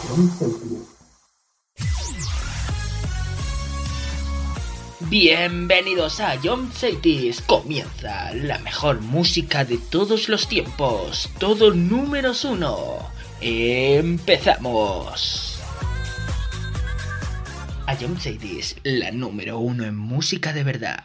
Bienvenidos a Jump Cities. Comienza la mejor música de todos los tiempos. Todo números 1. Empezamos. A Jump Cities, la número 1 en música de verdad.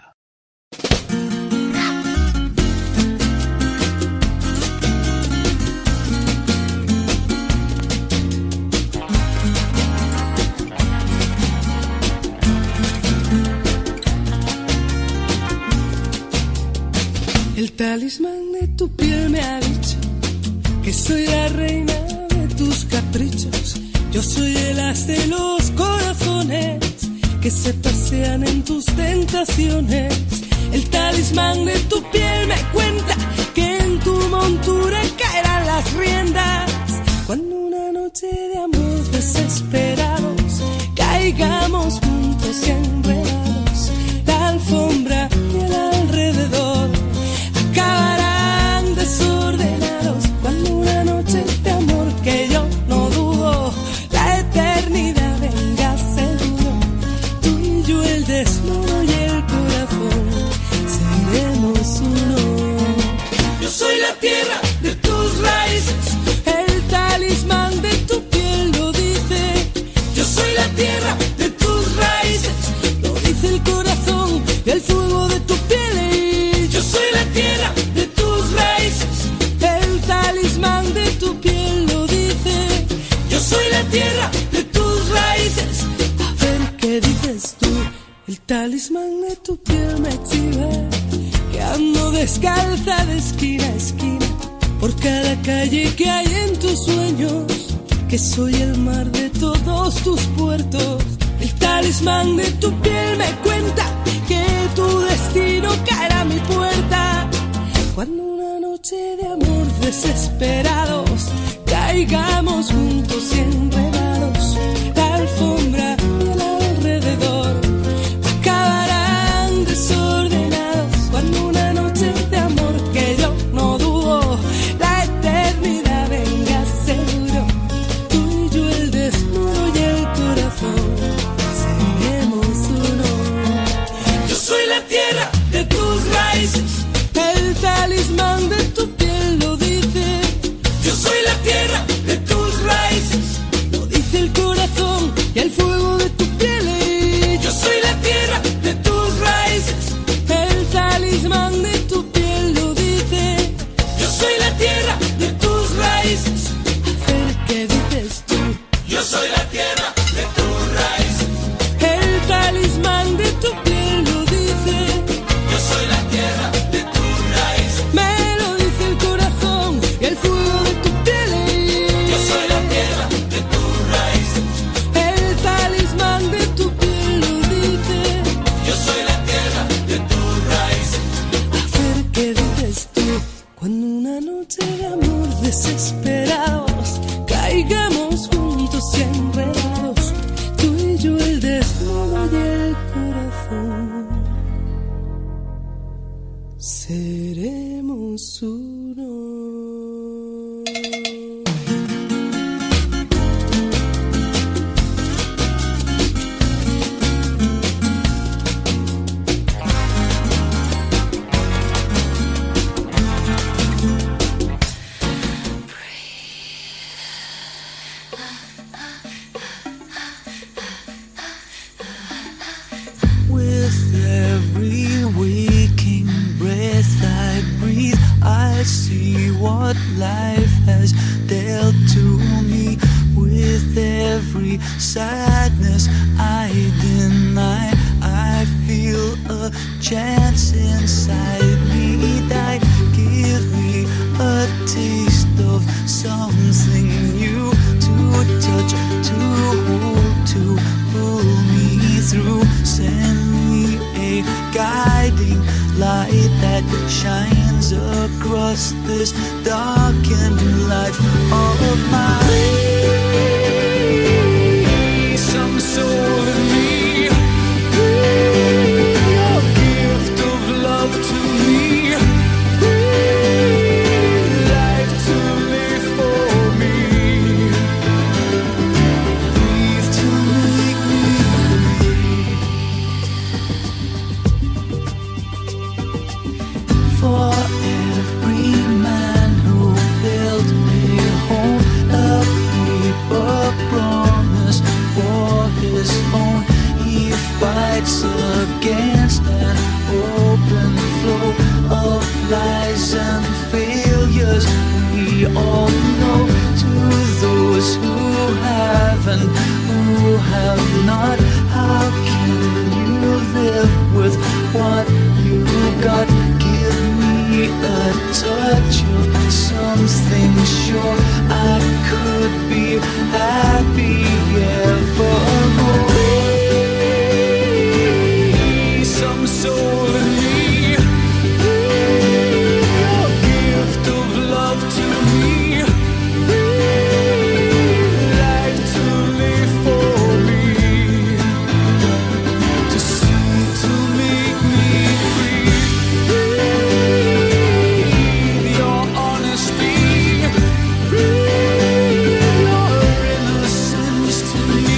El talismán de tu piel me ha dicho que soy la reina de tus caprichos. Yo soy el as de los corazones que se pasean en tus tentaciones. El talismán de tu piel me cuenta que en tu montura caerán las riendas. Cuando una noche de amor desesperados caigamos juntos y enredados, la alfombra y el alrededor acabarán desordenados. Cuando una noche de amor que yo no dudo, la eternidad venga seguro, tú y yo el desnudo y el corazón seremos uno. Yo soy la tierra de tus raíces, el talismán de tu piel lo dice. Yo soy la tierra de tus raíces, lo dice el corazón y el fuego de tu piel. Yo soy la tierra de tus raíces, el talismán de tu piel lo dice. Yo soy la tierra de tus raíces. A ver qué dices tú. El talismán de tu piel me chiva que ando descalza de esquina a esquina por cada calle que hay en tus sueños, que soy el mar de todos tus puertos. El talismán de tu piel me cuenta que tu destino caerá a mi puerta. Cuando una noche de amor desesperados caigamos juntos y enredados, la alfombra y el alrededor acabarán desordenados. Cuando una noche de amor que yo no dudo, la eternidad venga seguro, tú y yo el desnudo y el corazón seremos uno. Yo soy la tierra de tus raíces, el talismán de tu piel lo dice. Yo soy la tierra de tus raíces, lo dice el corazón y el fuego de tu piel. Yo soy la tierra de tus raíces, el talismán de tu piel lo dice. Yo soy la tierra de tus raíces. A ver qué dices tú. Yo soy la tierra de tus raíces, el talismán de tu piel lo dice. Yo soy la tierra de tus raíces, me lo dice el corazón y el fuego de tu piel. Yo soy la tierra de tus raíces, el talismán de tu piel lo dice. Yo soy la tierra de tus raíces. A ver qué dices tú. Cuando una noche de amor desesperados caigamos juntos y enredados, tú y yo el desnudo y el corazón seremos uno. With every waking breath I breathe, I see what life has dealt to me. With every sadness I deny, I feel a chance inside me that give me a taste of something new to touch, to hold, to pull me through. Send me a guiding light that shines across this darkened life of mine. Some soul in me, a gift of love to me, life to live for me. touch of something sure. I could be happy evermore. Some soul in me, your gift of love to me, life to live for me, to see, to make me breathe your honesty, your innocence to me,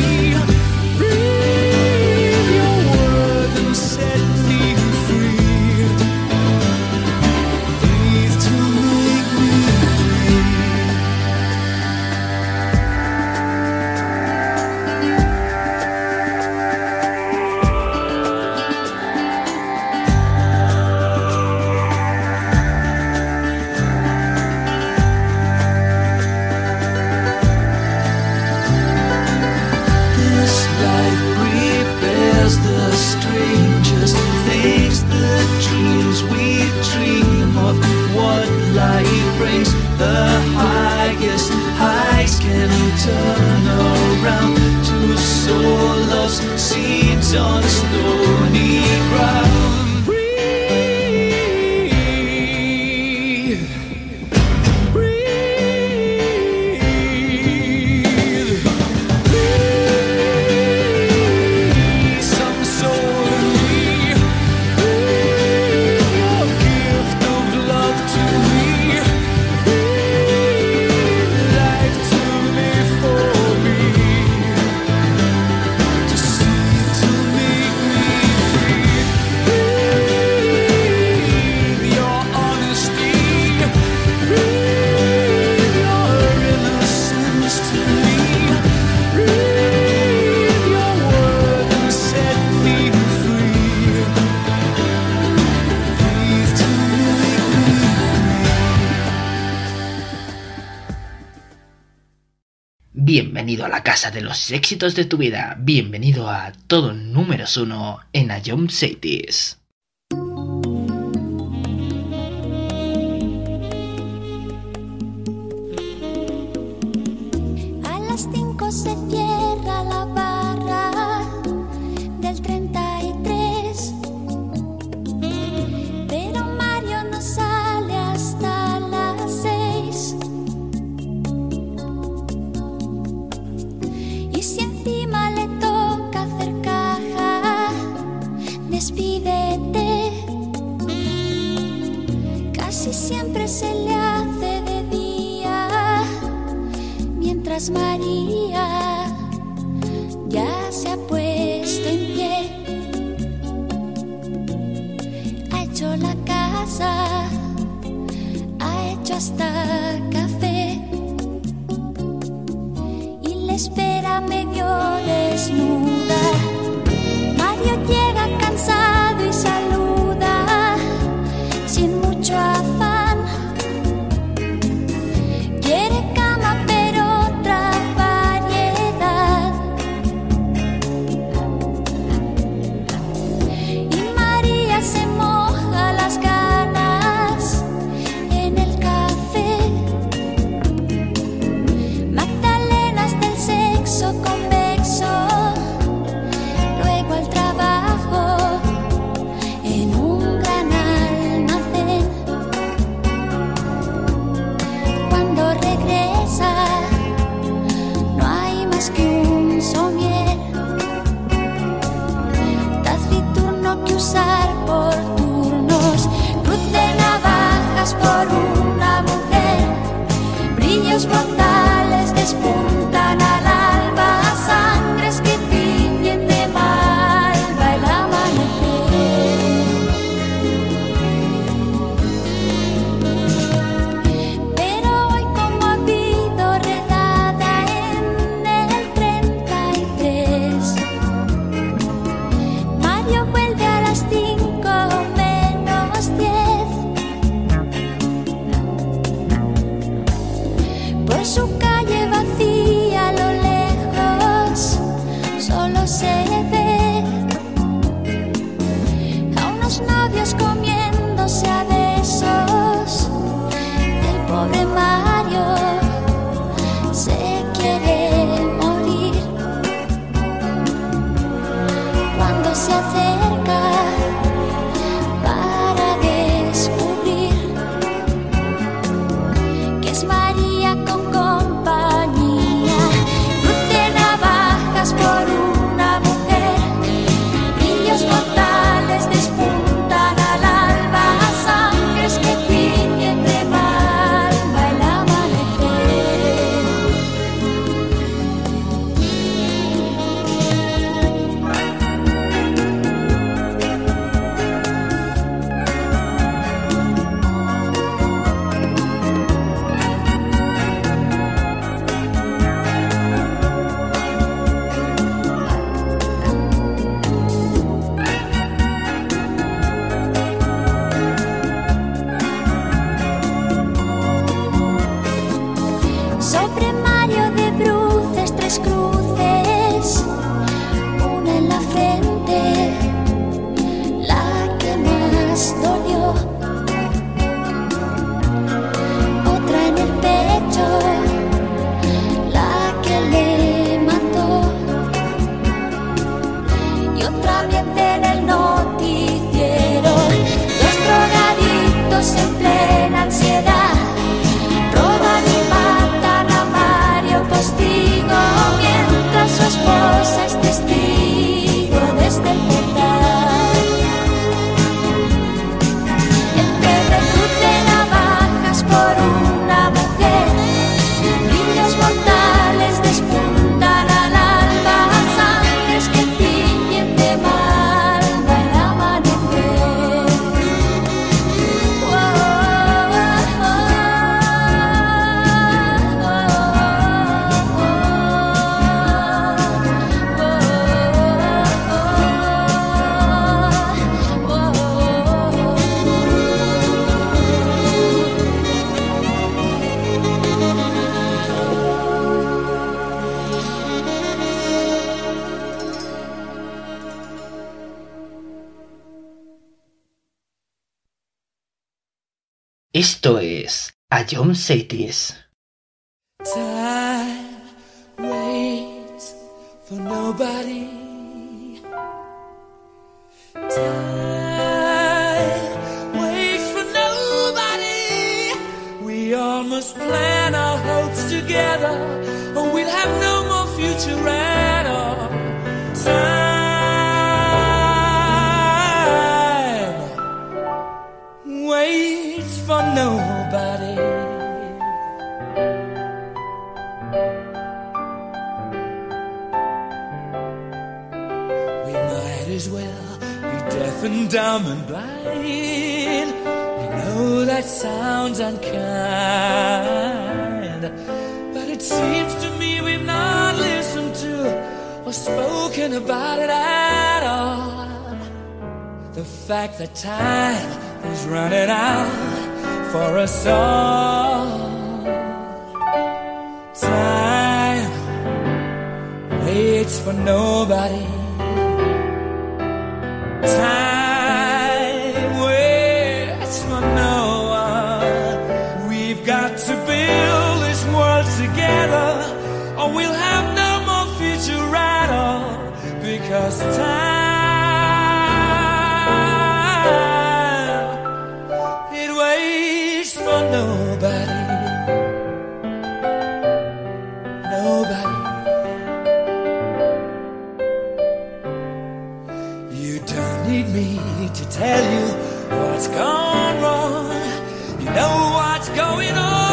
breathe your word and set me free, breathe to make me This life prepares the strangest things, the dreams we dream of. What life brings, the highest highs can turn around to sow love's seeds on stony ground. Breathe, breathe. Some soul in me, your gift of love to me, life to live for me, to see, to make me breathe your honesty, breathe your innocence to me, breathe your word and set me free, breathe to make me Bienvenido a la casa de los éxitos de tu vida. Bienvenido a todo números 1 en A Jump Cities. A las 5 se cierra la barra del 33, pero Mario no sale hasta las 6. Y si encima le toca hacer caja, despídete. Casi siempre se le hace de día, mientras María ya se ha puesto en pie. Ha hecho la casa, ha hecho hasta café y le espera medio desnuda. Mario llega cansado y saluda sin mucho afán. Quiere cama pero otra variedad. Y María se moja las ganas en el café. Magdalenas del sexo convexo Esto es A John Cities. Time waits for nobody. Time waits for nobody. We all must plan our hopes together, or we'll have no more future at all. Time waits for nobody. As well be deaf and dumb and blind. I know that sounds unkind, but it seems to me we've not listened to or spoken about it at all. The fact that time is running out for us all. Time waits for nobody. Time waits for no one. We've got to build this world together, or we'll have no more future at all. Because time, it waits for nobody. Nobody. Need me to tell you what's gone wrong. You know what's going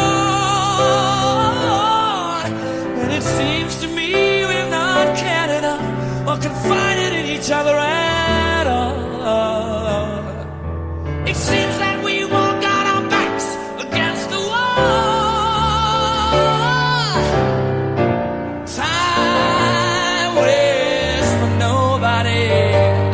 on, and it seems to me we've not cared enough or confided in each other at all. It seems that we walk out our backs against the wall. Time waits for nobody.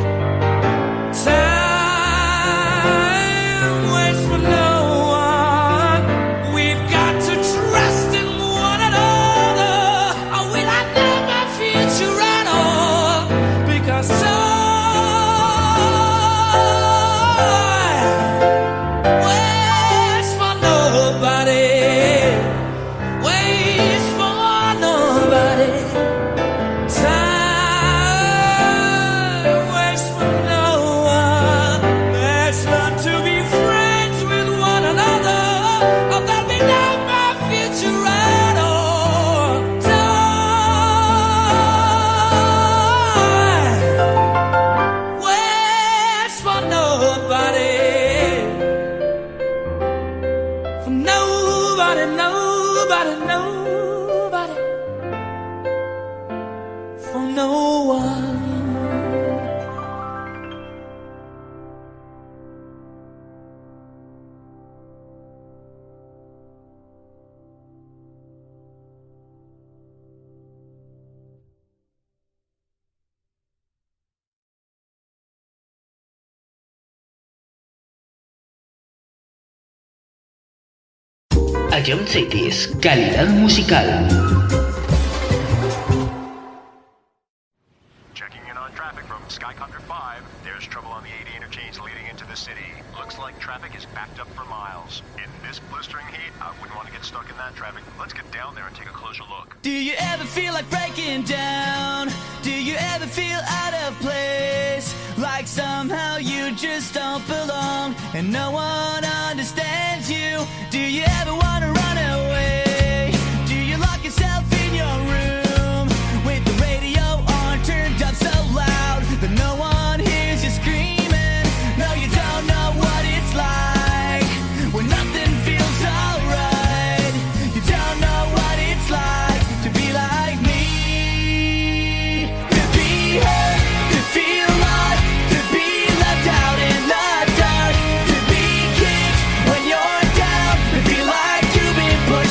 A John Cities, calidad musical. Checking in on traffic from Skycopter 5. There's trouble on the 80 interchange leading into the city. Looks like traffic is backed up for miles. In this blistering heat, I wouldn't want to get stuck in that traffic. Let's get down there and take a closer look. Do you ever feel like breaking down? Do you ever feel out of place? Like somehow you just don't belong and no one understands you? Do you ever want to run away? Do you lock yourself in your room with the radio on turned up so loud that no one hears you screaming? No, you don't know what it's like when nothing feels alright. You don't know what it's like to be like me, to be hurt, to feel lost, to be left out in the dark, to be kicked when you're down, to feel like you've been pushed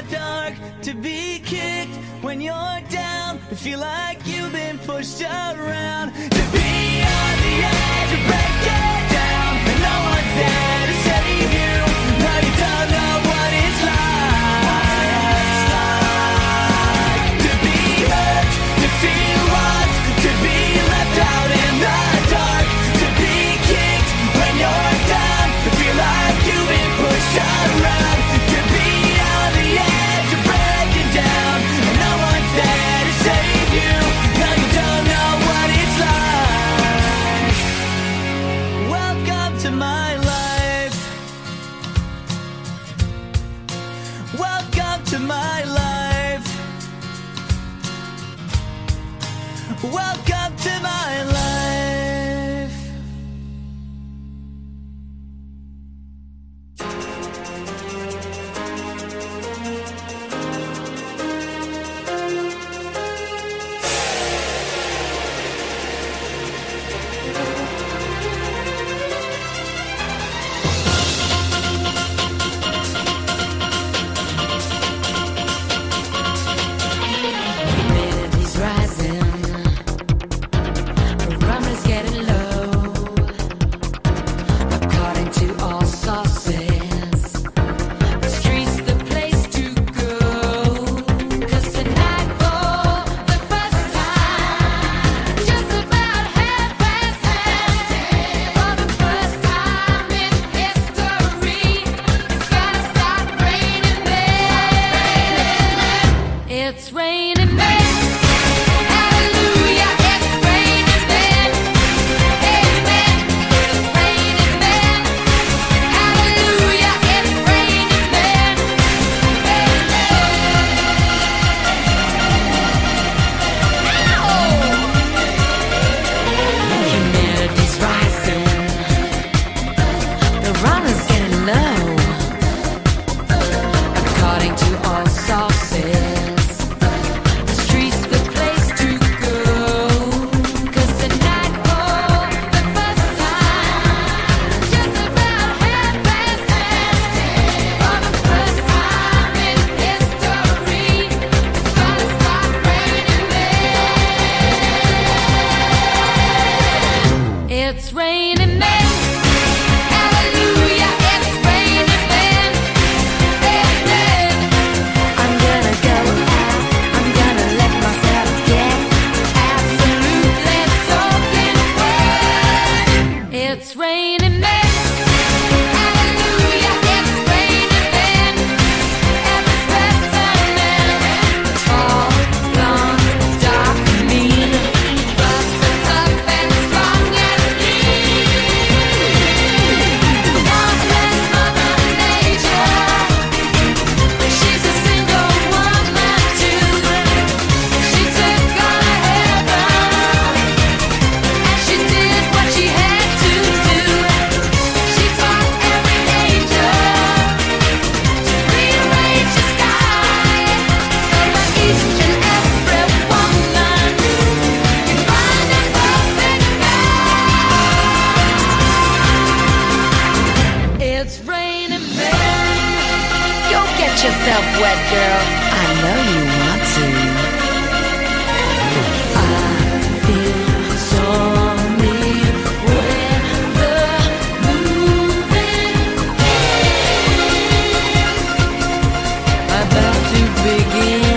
dark, to be kicked when you're down, to feel like you've been pushed around, to be on the edge of breaking down, and no one's there to save you. Now you don't know what it's like to be hurt, to feel lost, to be left out in the dark, to be kicked when you're down, to feel like you've been pushed around, to be on the edge of breaking down, and no one's there to save you. Now you don't know what it's like. Welcome to my life. Welcome to my life. Welcome to my life. Humidity's rising, the rum is getting low. According to all sources, the street's the place to go. 'Cause tonight for the first time, just about 10:30, for the first time in history, it's gonna start raining men. It's raining men. Hallelujah, it's raining men. Amen. It's raining men. Hallelujah, it's raining men. Amen. Humidity's rising. The run is getting low. According to all sources, the street's the place to go. 'Cause tonight for the first time, just about 10:30, for the first time in history, it's gonna start raining men. It's raining men. Hallelujah, it's raining men. Amen. I'm gonna go out, I'm gonna let myself get absolutely soaking wet. It's raining men. Hallelujah, it's raining men. Every specimen, tall, blonde, dark, mean, busted up and strong and mean. Godless Mother Nature, she's a single woman too. She took on a heaven, and she did what she had to do. She taught every angel to rearrange the sky, so that each and every woman can find a perfect guy. It's raining men. Go get yourself wet, girl. I know you want to. I feel stormy weather moving about to begin.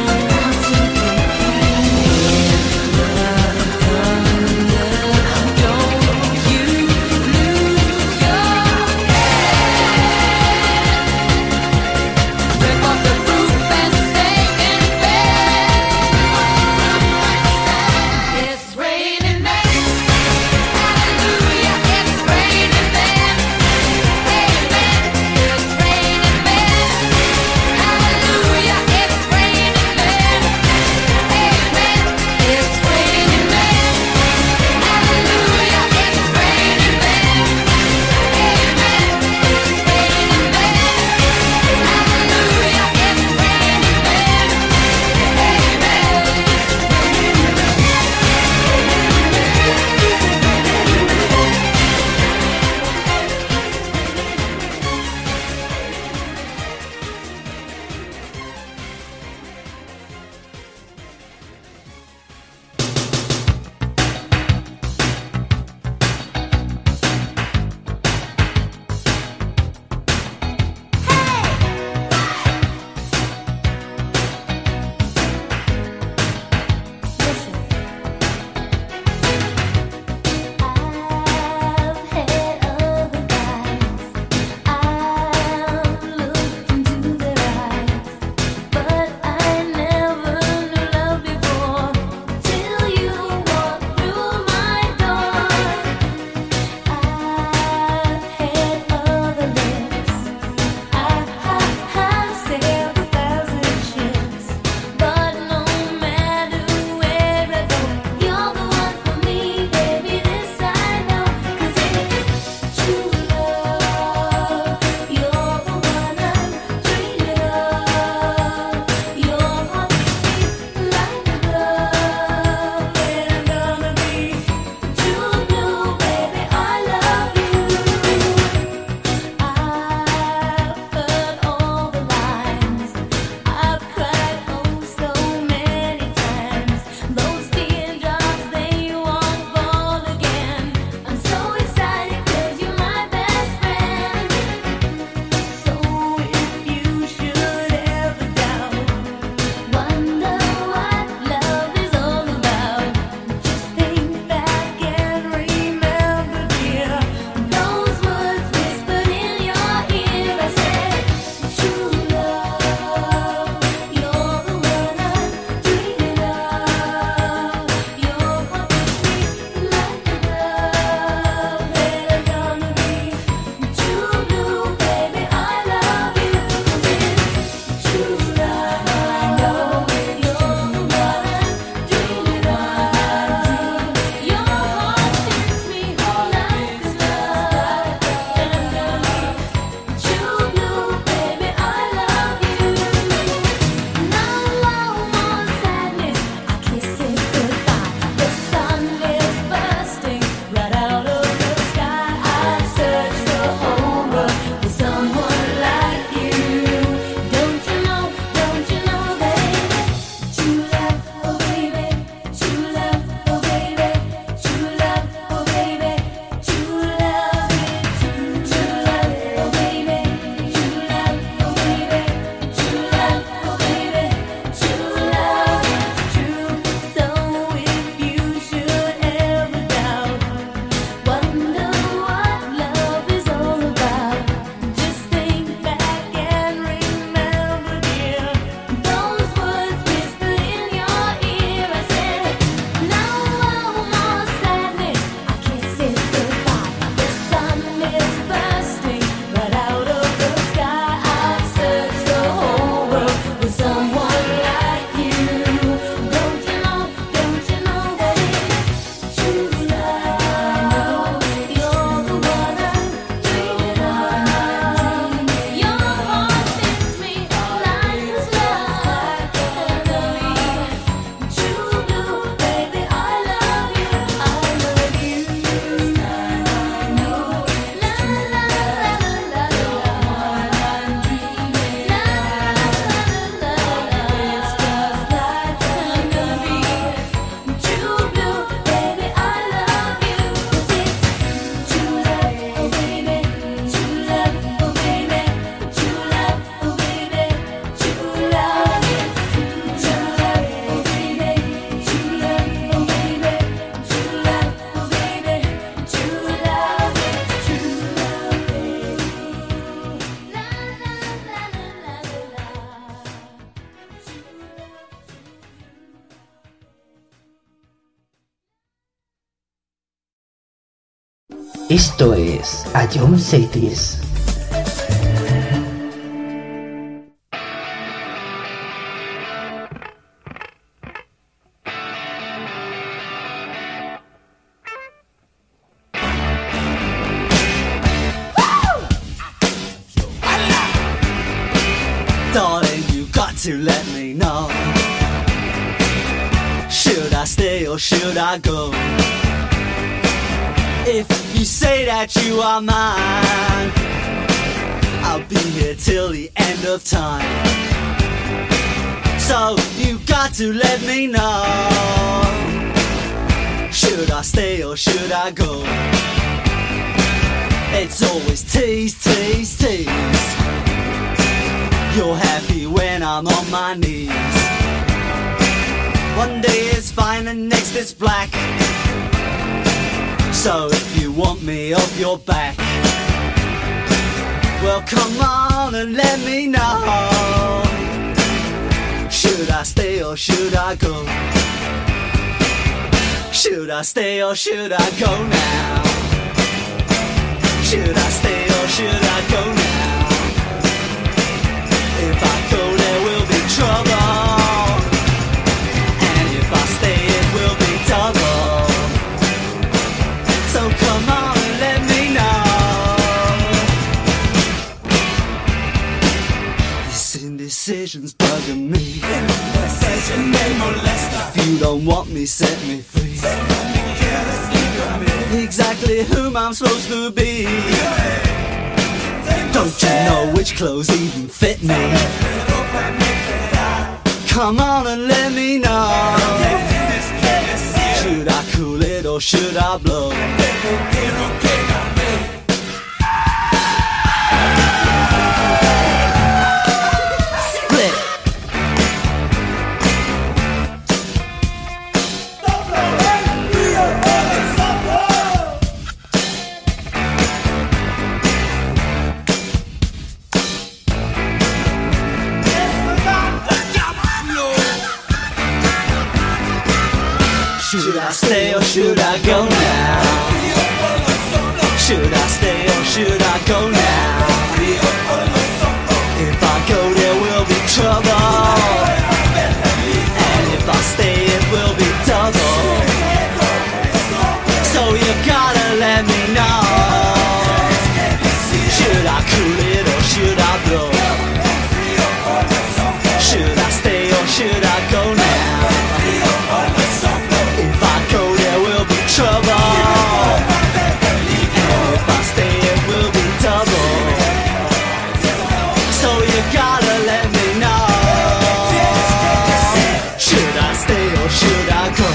In the thunder, don't you lose your head. Rip off the roof and stay in bed. Esto es A Jump Cities. Darling, you got to let me know. Should I stay or should I go? If you say that you are mine, I'll be here till the end of time. So you got to let me know. Should I stay or should I go? It's always tease, tease, tease. You're happy when I'm on my knees. One day it's fine and next it's black. So if you want me off your back, well come on and let me know. Should I stay or should I go? Should I stay or should I go now? Should I stay or should I go now? If I go there will be trouble, and if I stay it will be double. So come on and let me know. This indecision's bugging me. If you don't want me, set me free. Exactly whom I'm supposed to be. Don't you know which clothes even fit me? Come on and let me know. Should I cool it or should I blow? Split. Should I stay or should I go now? Should I stay or should I go now? If I go there will be trouble, and if I stay it will be double. So you gotta let me know. Should I cool it or should I blow? Should I stay or should I go now? If I go there will be trouble, and if I stay it will be double. So you gotta let me know. Should I stay or should I go?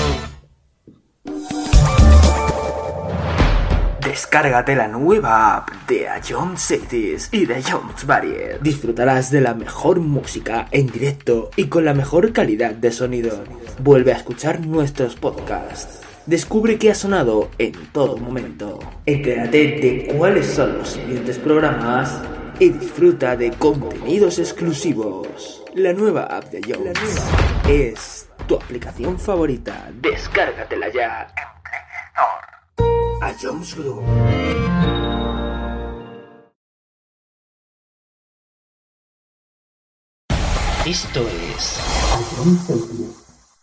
Descárgate la nueva app de A Jump Cities y de Jump Varied. Disfrutarás de la mejor música en directo y con la mejor calidad de sonido. Vuelve a escuchar nuestros podcasts. Descubre qué ha sonado en todo momento. Entérate de cuáles son los siguientes programas y disfruta de contenidos exclusivos. La nueva app de Jump es tu aplicación favorita. Descárgatela ya en Play Store. A Jones Group. Esto es A Jones Group.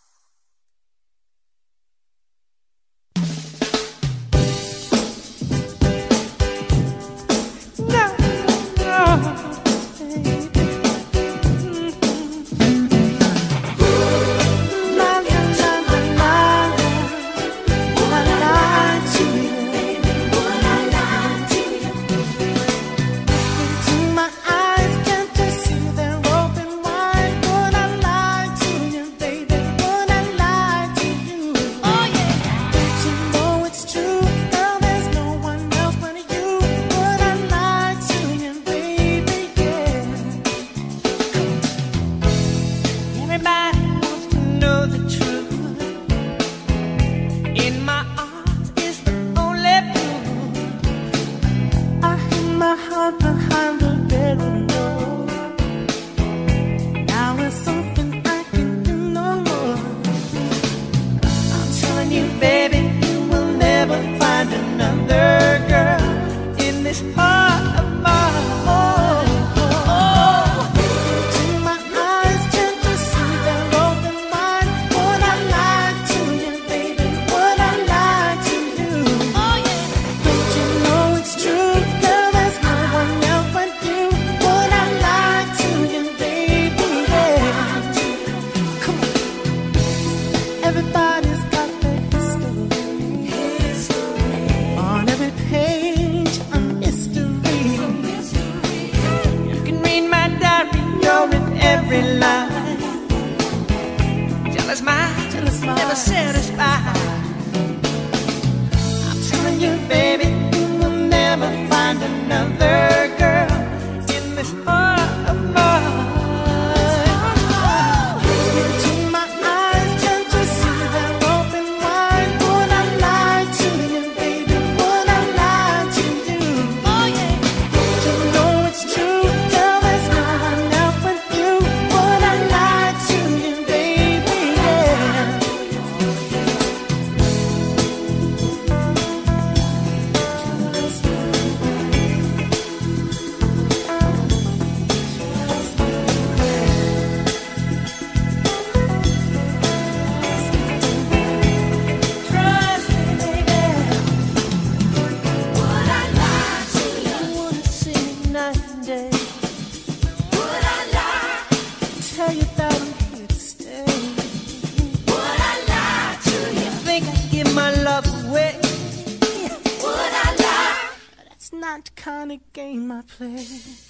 My eyes can't you see they're open wide? Would I lie to you, baby? every line. Jealous mind, never satisfied. I'm telling you, baby, you will never find another girl in this heart of mine. Into my eyes, can't you see they're open wide? Would I lie to you, baby? Would I lie to you? Oh yeah. Don't you know it's true? Girl, there's no one else but you. Would I lie to you, baby? Yeah. Trust me, baby. Would I lie to you? I wanna see you night and day. Would I lie? Tell you that I'm here to stay. Would I lie to you? Think I'd give my love away? Would I lie? That's not the kind of game I play.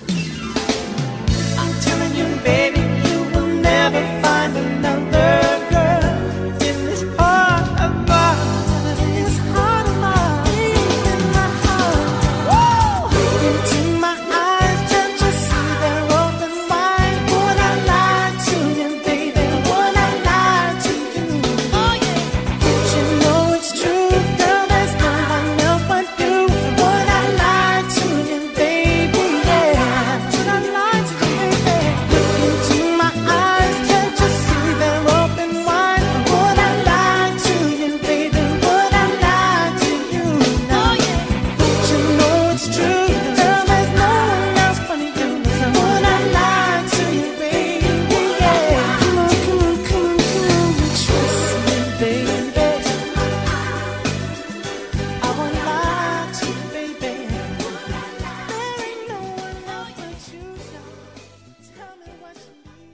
I'm telling you, baby, you will never find another girl in this heart of mine. This heart of mine, in my heart. Woo! Into my eyes, can't you see they're open wide? Would I lie to you, baby? Would I lie to you? Oh yeah. Don't you know it's true, girl? There's no one else but you. Would I lie to you, baby? Yeah. Should I lie to you, baby? Look into my eyes, can't you see they're open wide? Would I lie to you, baby? Would I lie to you? Oh yeah. Don't you know it's true, girl? There's no one else but you. Would I lie to you, baby? Yeah. Come on, come on, come on, come on. Trust me, baby. I won't lie to you, baby. There ain't no one else but you. Tell me what you need.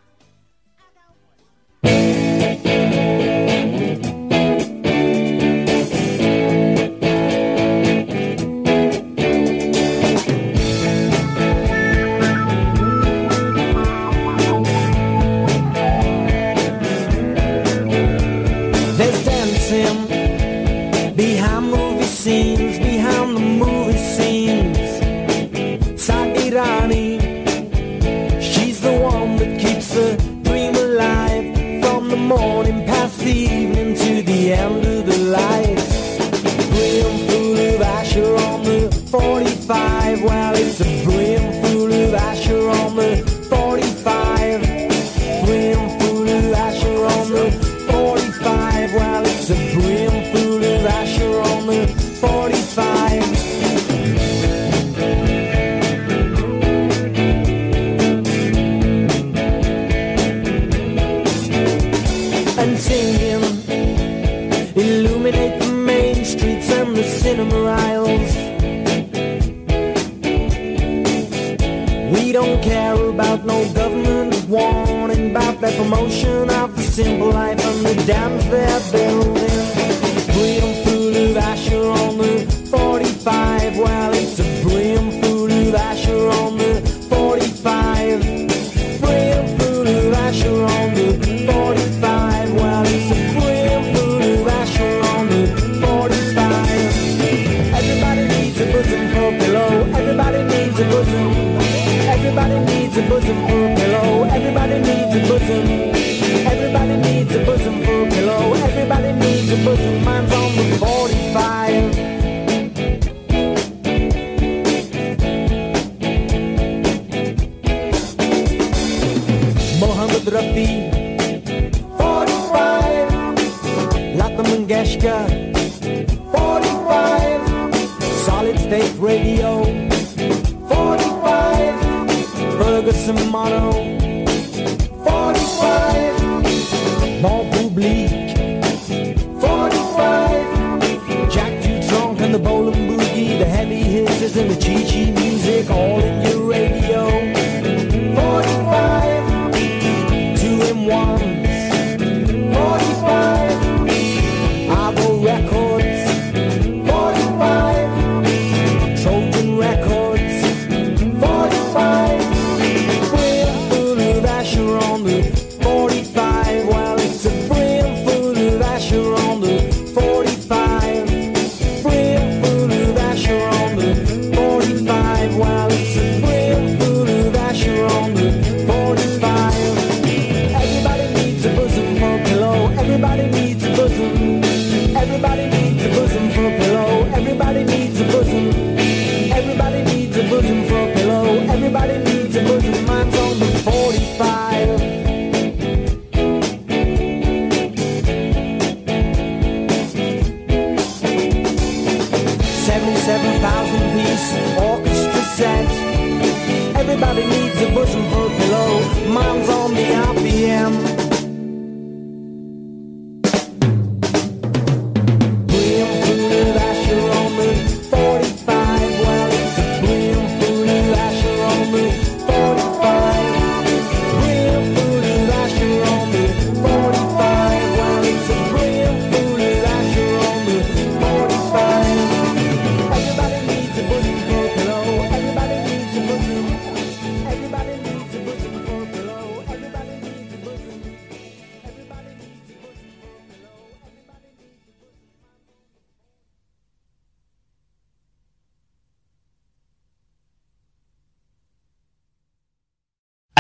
There's dancing behind movie scenes, behind the movie scenes. Sagirani, she's the one that keeps the dream alive. From the morning past the evening to the end of the light. Brimful of Asher on the 45. Well, it's a brimful of Asher on the 45. Brimful of Asher on the 45. Well, it's a brimful of Asher on the 45. And singing, illuminate the main streets and the cinema aisles. We don't care about no government warning about the promotion of the simple life and the dams they're building. Brimful of Asher on the 45. Well, it's a brimful of Asher on the 45. Brimful of Asher on the 45. Well, it's a brimful of Asher on the 45. Everybody needs a bosom for a pillow. Everybody needs a bosom. Everybody needs a bosom for a pillow. Everybody needs a bosom. Everybody needs a bosom for a pillow. Everybody needs a bosom. Mine's on the 45. Mohammed Rafi, 45. Lata Mangeshkar, 45. Solid State Radio, 45. Ferguson Mono, 45. Bon Public, 45. Jack Dutronc and the Bowling Boogie, the heavy hitters and the Chi-Chi music, all in your radio, 45. 2-in-1s, 45. Argo Records, 45. Trojan Records, 45. Brimful of Asher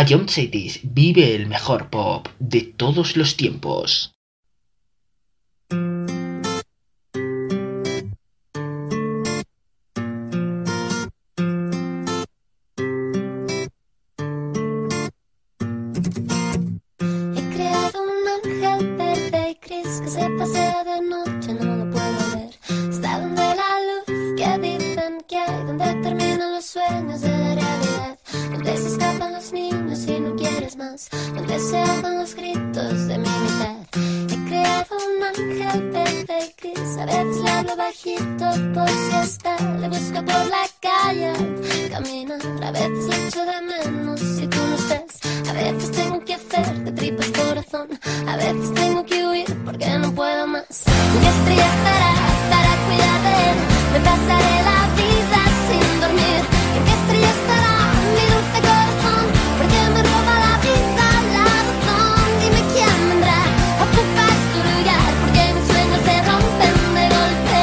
Ion Cities vive el mejor pop de todos los tiempos. He creado un ángel verde y gris que se pasea de noche, no lo puedo ver. Está donde la luz que dicen que hay, donde terminan los sueños de la realidad, donde se escapan los niños y no quieres más, donde se ahogan los gritos de mi mitad. He creado un ángel verde y gris, a veces le hablo bajito por si está, le busco por la calle al caminar, a veces le echo de menos si tú no estás, a veces tengo que hacer de tripas corazón, a veces tengo que huir porque no puedo más. ¿Qué estrella estará para cuidar de él? Me pasaré la vida sin dormir. ¿En qué estrella estará mi dulce corazón? Porque me roba la vida, la razón. Dime quién vendrá a ocupar su lugar, porque mis sueños se rompen de golpe.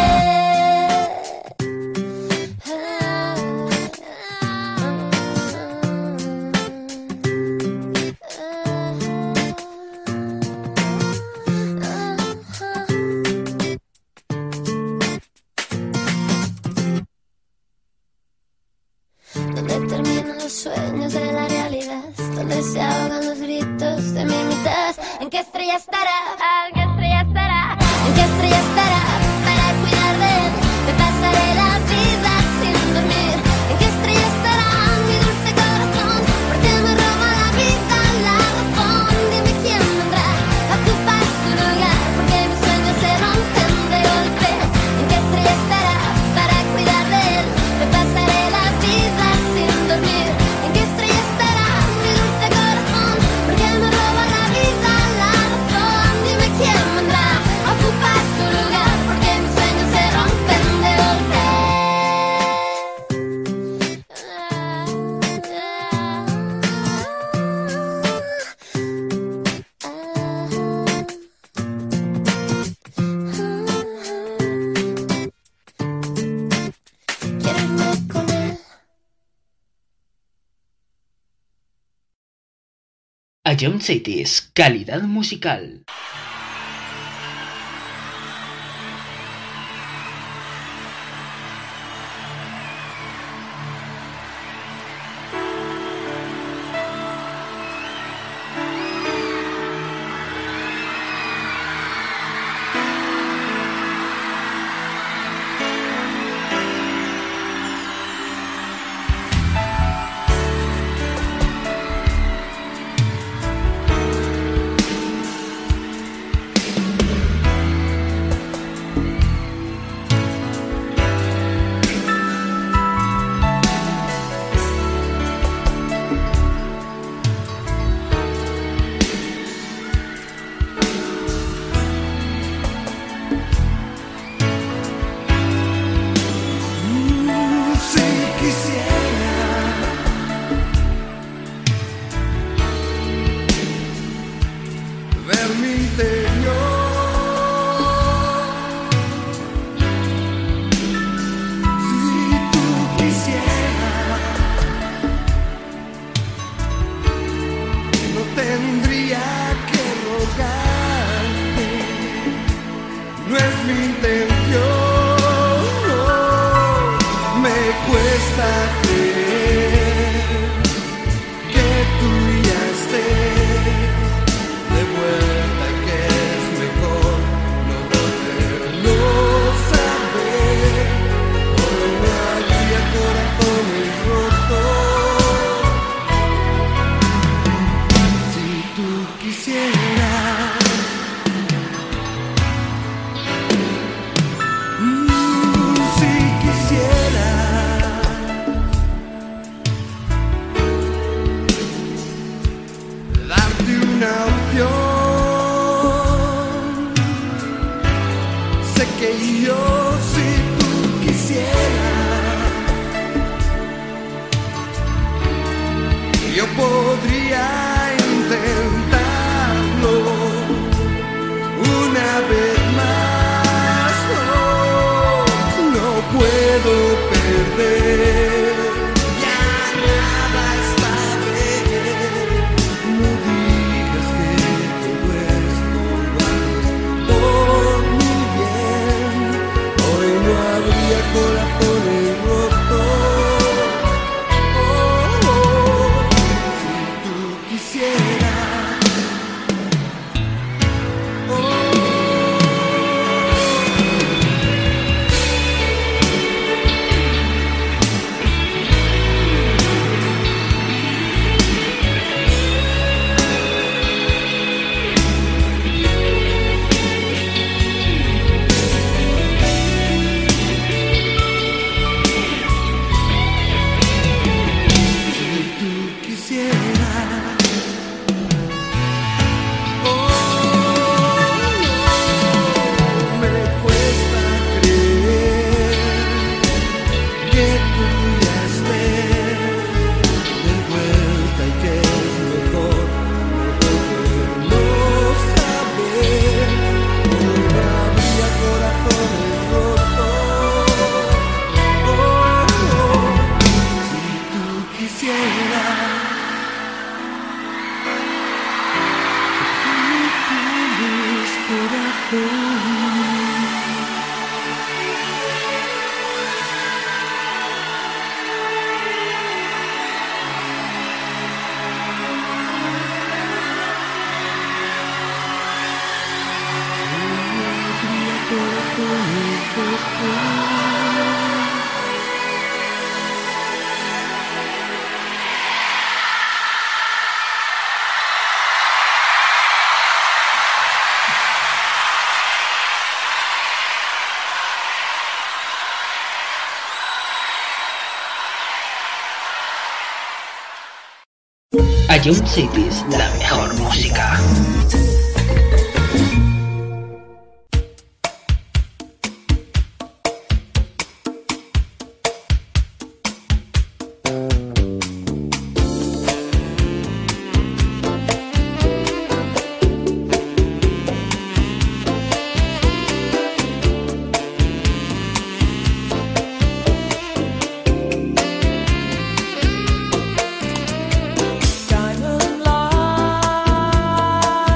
Donde terminan los sueños de la realidad, donde se ahogan los gritos de mi mitad. ¿En qué estrella estará? ¿En qué estrella estará? ¿En qué estrella estará para cuidar de él? Me pasaré la vida sin dormir. ¿En qué estrella estará mi dulce corazón? Porque me roba la vida, la razón. Dime quién vendrá a ocupar su lugar, porque mis sueños se rompen de golpe. ¿En qué estrella estará para cuidar de él? Me pasaré la vida sin dormir. ¿En qué estrella estará mi dulce corazón? Porque me roba la vida, la razón. Dime quién vendrá a ocupar su lugar, porque mis sueños se rompen de golpe. Quiero irme con él. Ion Cities, calidad musical. Si quisiera ver mi interior, si tú quisieras, no tendría que rogarte, no es mi intención. Me cuesta creer que tú ya estés de vuelta y que es mejor no volverlo a saber. Hoy no había corazones rotos. Si tú quisieras Jump Cities, la mejor música. Diamond light.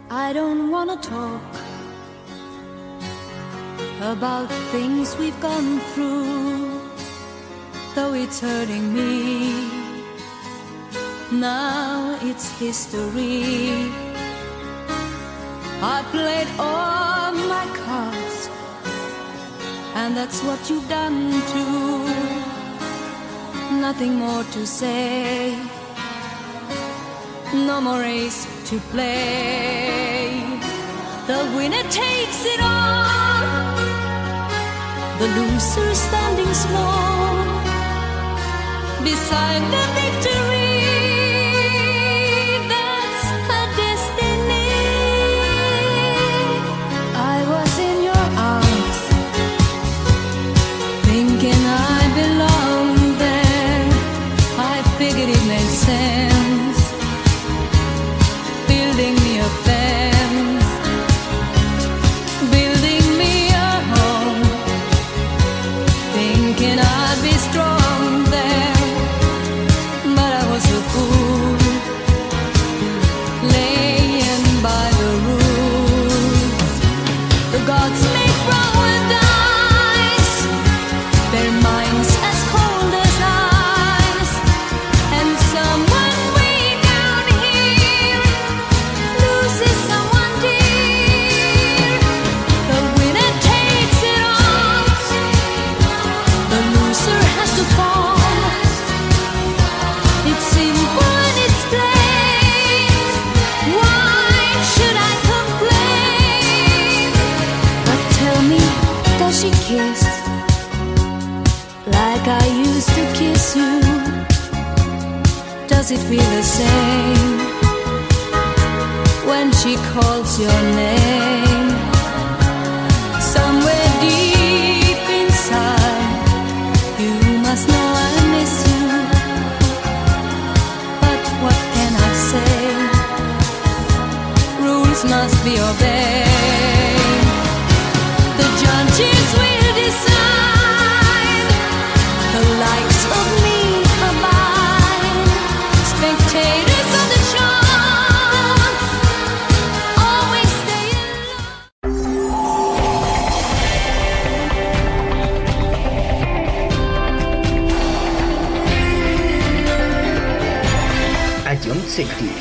I don't wanna talk about things we've gone through, though it's hurting me. Now it's history. I played all my cards, and that's what you've done too. Nothing more to say, no more race to play. The winner takes it all, the loser standing small beside the victory. That's her destiny. I was in your arms, thinking I belonged there. I figured it made sense, building me a fence, building me a home, thinking I'd be strong there. But I was a fool, laying by the rules. The gods make wrong with ice, their minds as cold as ice. And someone way down here loses someone dear. The winner takes it all, the loser has to fall. It's simple and it's plain. Why should I complain? But tell me, does she kiss like I used to kiss you? Does it feel the same when she calls your name? Somewhere deep inside, you must know I miss you. But what can I say? Rules must be obeyed. The judges will decide, the likes of me abide. Spectators of the show always stay alone. Ion 60s.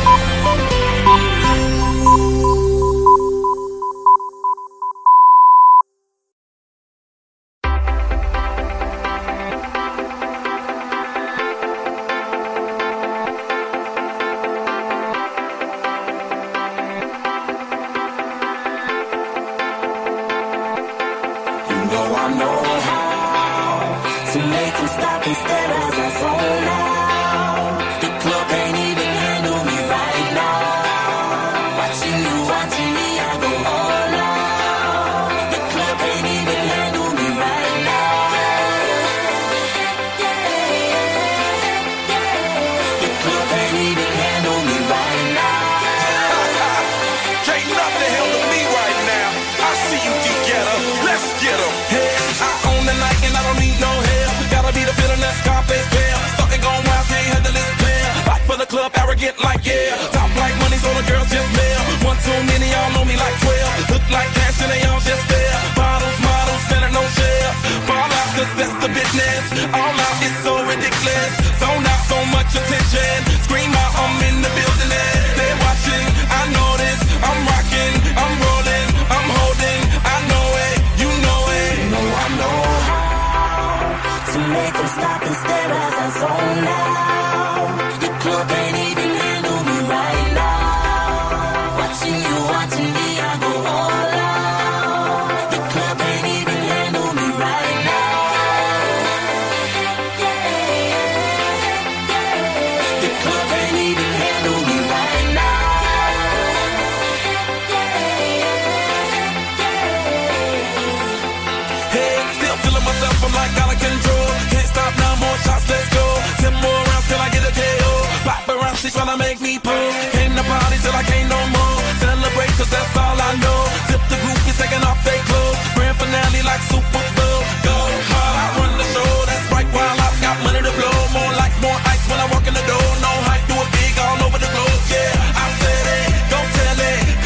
You know I know how to make them stop and stare as I zone out. The club can't even handle me right now. Watching you, watching me, I go all out. The club can't even handle me right now. The club can't even handle me right now. Can't nothing handle me right now. I see you, D-Getter. Let's get 'em. Hey, I own the night and I don't need no help. Gotta be the feeling that Scarface feel. Starting going wild, can't handle this player. Fight for the club, arrogant like yeah. Top like money, so the girls just mail. One too many, y'all know me like 12. Look like cash and they all just there. Bottles, models, selling no shares. Fall out, cause that's the business. All out is so ridiculous. Zone out, so much attention. Scream out, I'm in the building and they're watching. I know this, I'm rocking, I'm rolling, I'm holding. I know it, you know it. You know I know how to make them stop and stare as I zone out. The club can't even handle me right now. Watching you, watching me, I go all out. The club can't even handle me right now. The club can't even handle me right now. Hey, still feeling myself, I'm like out of control. Can't stop now, more shots, let's go. 10 more rounds till I get a KO. Paparazzi tryna make me pull. Came to party till I can't no more. Celebrate cause that's all I know. Tip the group is taking off their clothes. Grand finale like Super Bowl. Go hard, I run the show. That's right, while I've got money to blow. More lights, more ice when I walk in the door. No hype, do it big all over the globe. Yeah, I said it, go tell it.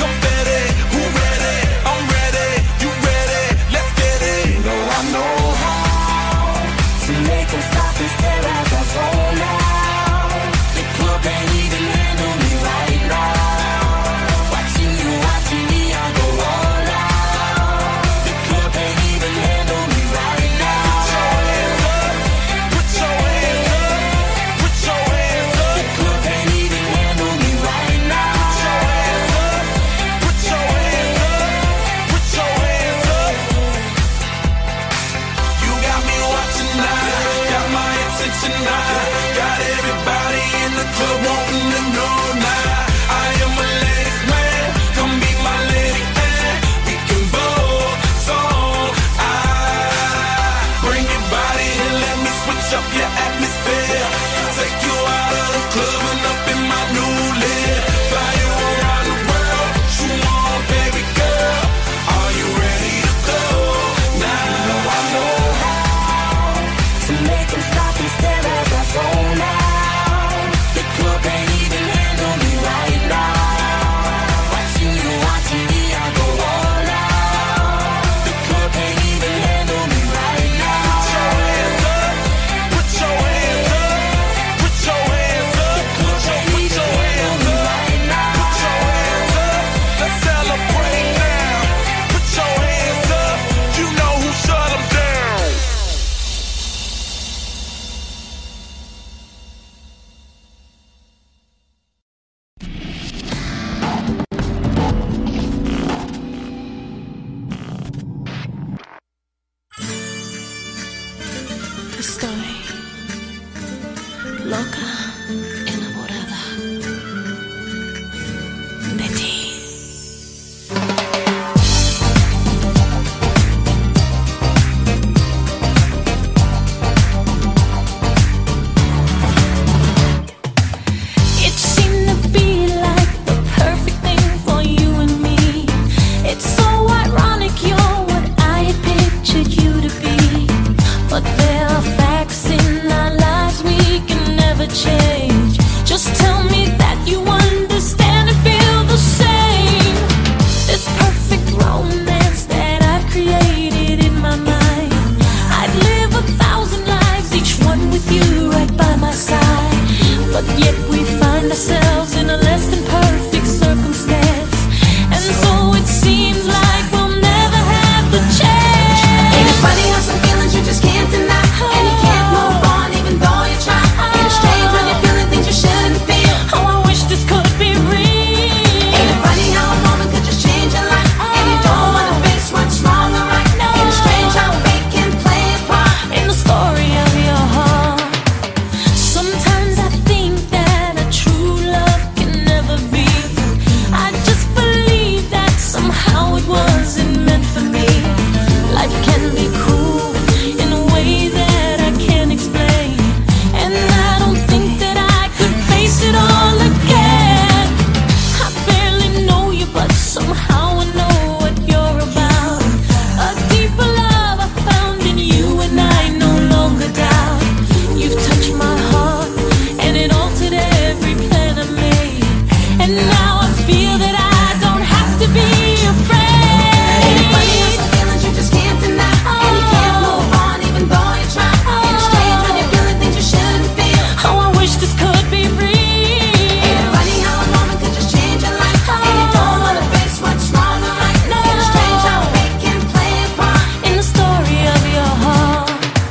And now I feel that I don't have to be afraid. Ain't it funny how some feelings you just can't deny, and you can't move on even though you try. Ain't it strange when you're feeling things you shouldn't feel? Oh, I wish this could be real. Ain't it funny how a moment could just change your life, and you don't wanna face what's wrong or right? Ain't it strange how we can play a part In the story of your heart,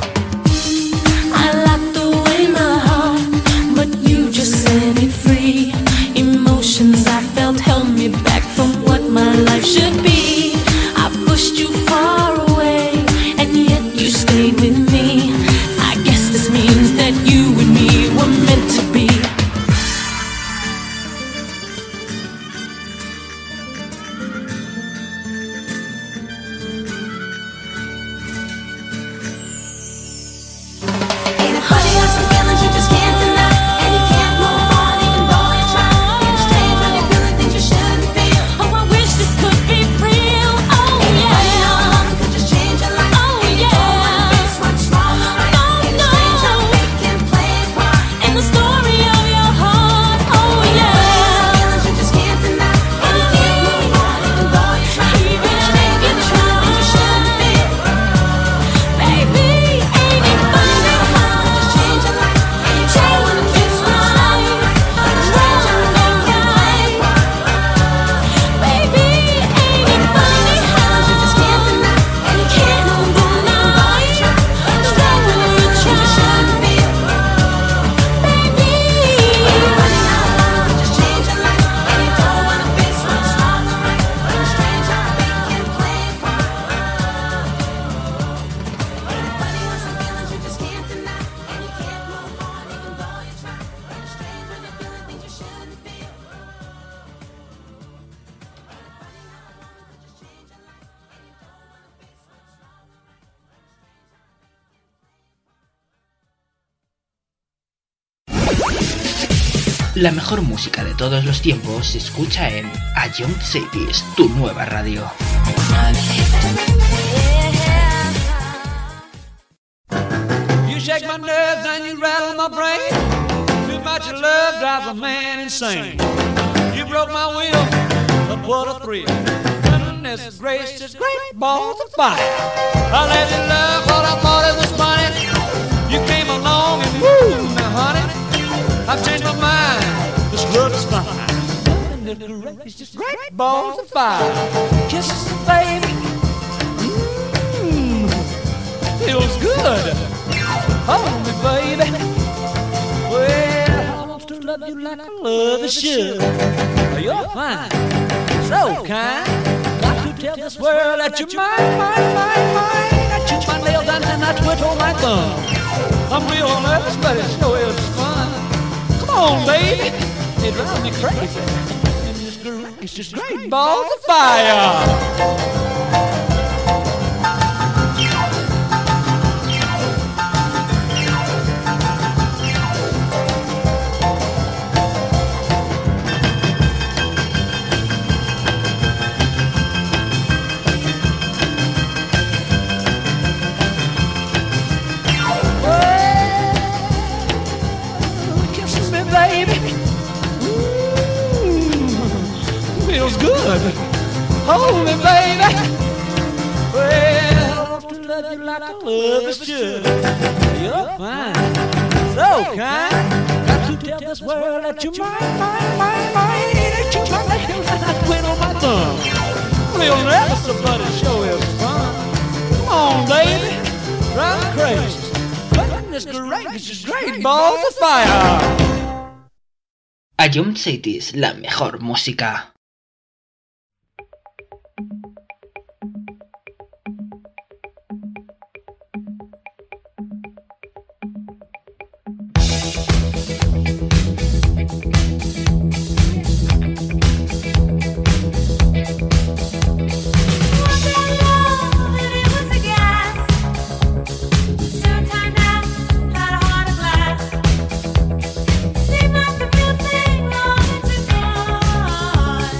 I locked away my heart, but you just set me free. Emotions I felt held me back from what my life should be. I pushed you far away, and yet you stayed with me. I guess this means that you and me were meant to be. Ain't it funny how some feelings you just can't deny, and you can't move on even though you try? Ain't it strange when you're feeling things you shouldn't feel? Oh, I wish this could be real. Oh, Ain't it funny how a yeah. moment could just change your life? Oh, and you don't wanna yeah. face what's wrong or right? Oh, Ain't it strange how no. we can play a part In the story of your heart. Oh, Some yeah. feelings you just can't deny, and you can't move on even though you try. Ain't it strange when you're feeling things you shouldn't feel? Baby, ain't it funny how Just change your life, and you don't wanna face what's wrong or right? Ain't it strange how we can play a part Baby, ain't it funny how you just can't deny, and you can't move on even though you try. Ain't it strange when you're feeling things you shouldn't feel? baby, Ain't it funny how a moment could just change your life, and you don't wanna face what's wrong or right? Ain't it strange how we can play a part Ain't it funny how some feelings you just can't deny, and you can't move on even though you try? Ain't it strange when you're feeling things you shouldn't feel? La mejor música de todos los tiempos se escucha en A Young Cities, tu nueva radio. You shake my nerves and you rattle my brain. Too much of love drives a man insane. You broke my will, but what a thrill. Goodness gracious, great balls of fire. I let you love what I thought it was funny. You came along and woo, now honey, I've changed my mind. This love is fine. Goodness gracious, great balls of fire. Kisses, baby. Feels good. Hold me, baby. Well, I want to love you like I love you should. You're fine, so kind. Got to tell this world that you're mine, mine, mine, mine. I chew my nails down and I twiddle my thumb. I'm real nervous, but it sure is fun. Come on, baby. It drives me crazy. And it's just great balls of fire. Feels good. Hold me, baby. Well, I want to love you like I love you should. You're fine, so kind. Got to tell this world that you're mine, mine, mine, mine. That you're my nails and I twiddle my thumb. Real nervous, but it sure is fun. Come on, baby, drive me crazy. Goodness gracious, great balls of fire. A Young Cities, la mejor música. Seemed like the real thing long to go.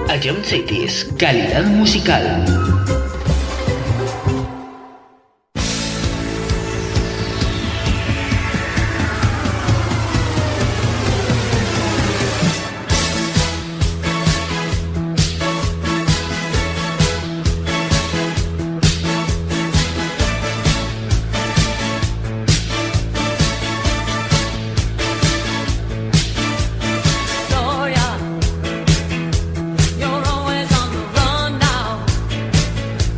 A John Cities, calidad musical. You're always on the run now.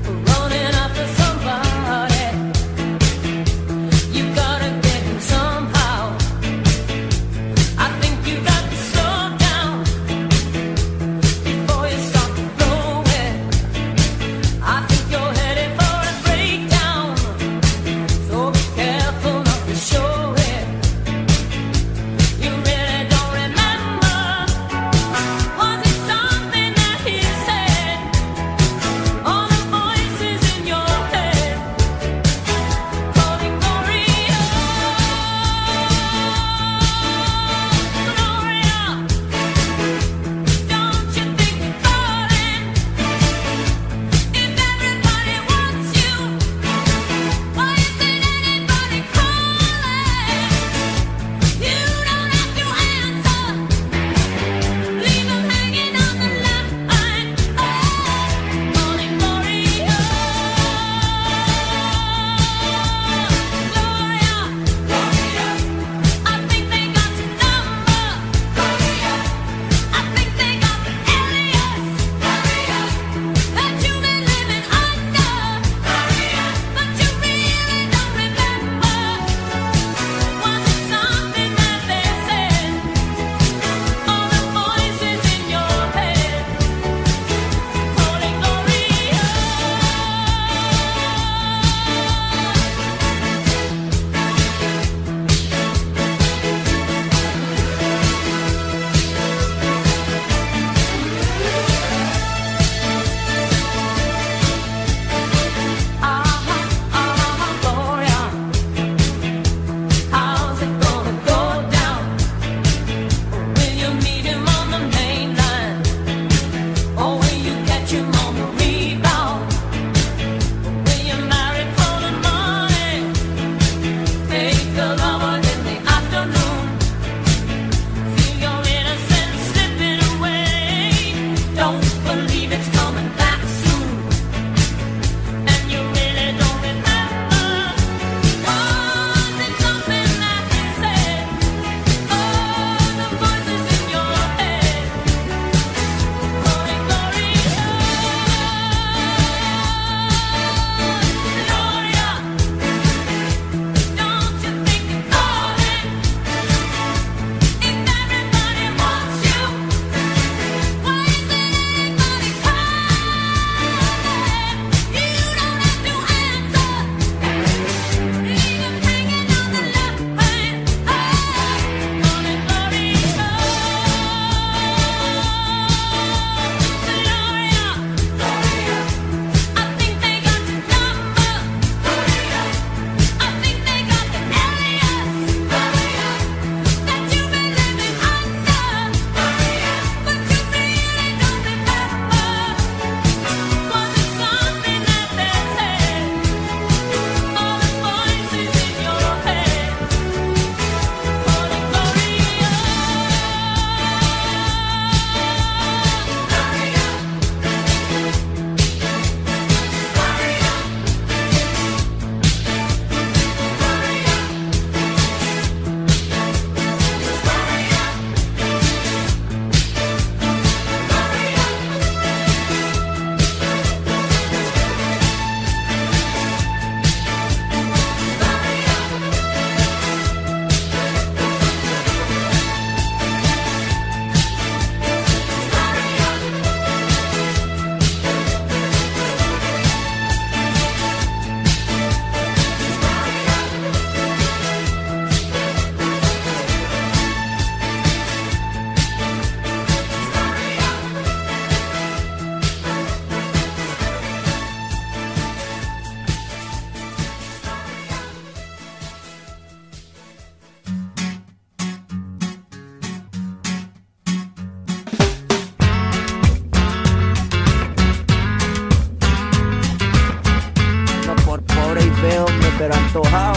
pero antojado.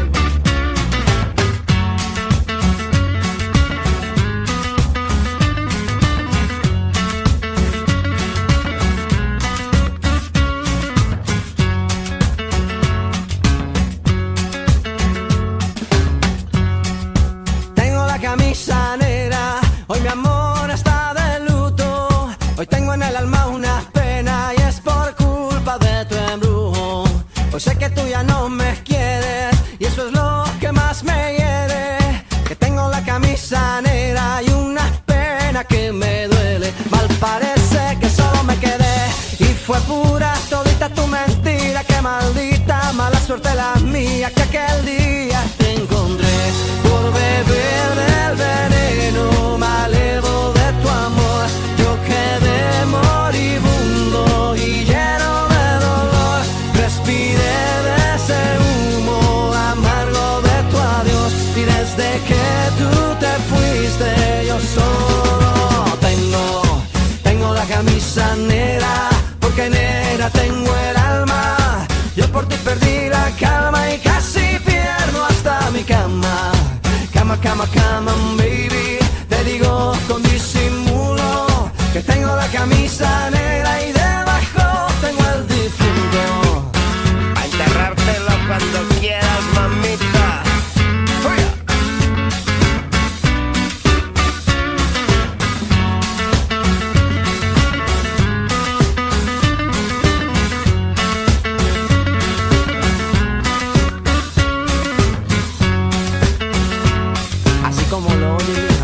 Tengo la camisa negra, hoy mi amor está de luto. Hoy tengo en el alma una pena y es por culpa de tu embrujo. Hoy sé que tú ya no me quieres y eso es lo que más me hiere. Que tengo la camisa negra y una pena que me duele. Mal parece que solo me quedé y fue pura todita tu mentira. Que maldita mala suerte la mía que aquel día te encontré. Por beber del veneno malevo de tu amor, yo quedé moribundo y lleno de dolor. Respiré de ese humo amargo de tu adiós y desde que tú te fuiste yo solo tengo la camisa negra, porque negra tengo el alma. Yo por ti perdí la calma y casi pierdo hasta mi cama. Cama, cama, cama, baby, te digo con disimulo que tengo la camisa negra y debajo tengo el difunto. A enterrártelo cuando quieras, mamita. ¡Fuera! Así como lo oye, hija.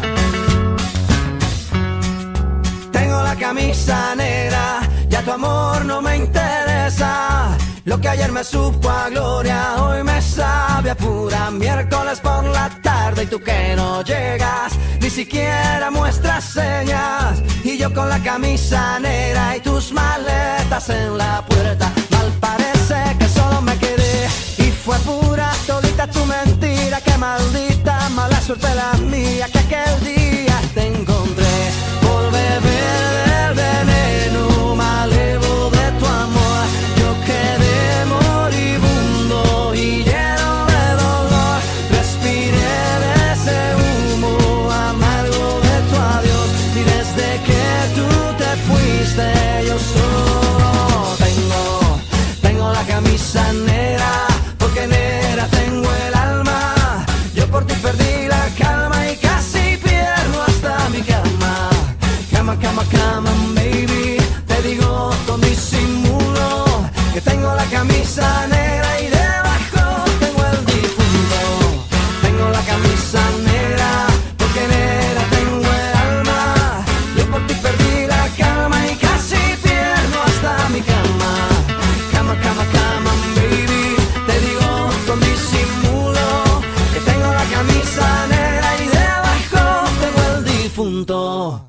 Tengo la camisa negra, ya tu amor no me interesa. Lo que ayer me supo a gloria, hoy me sabe a pura. Miércoles por la tarde y tú que no llegas, ni siquiera muestras señas. Y yo con la camisa negra y tus maletas en la puerta. Mal parece que solo me quedé y fue pura todita tu mentira. Que maldita mala suerte la mía que aquel día te encontré. Por beber del veneno malevo de tu amor, yo quedé moribundo y lleno de dolor. Respiré de ese humo amargo de tu adiós y desde que tú te fuiste yo solo tengo la camisa negra, porque negra tengo el alma. Yo por ti perdí la calma y casi pierdo hasta mi cama. Cama, cama, cama, baby, te digo con disimulo que tengo la camisa negra y debajo tengo el difunto. Tengo la camisa negra, porque negra tengo el alma. Yo por ti perdí la calma y casi pierdo hasta mi cama. Cama, cama, cama, baby, te digo con disimulo que tengo la camisa negra y debajo tengo el difunto.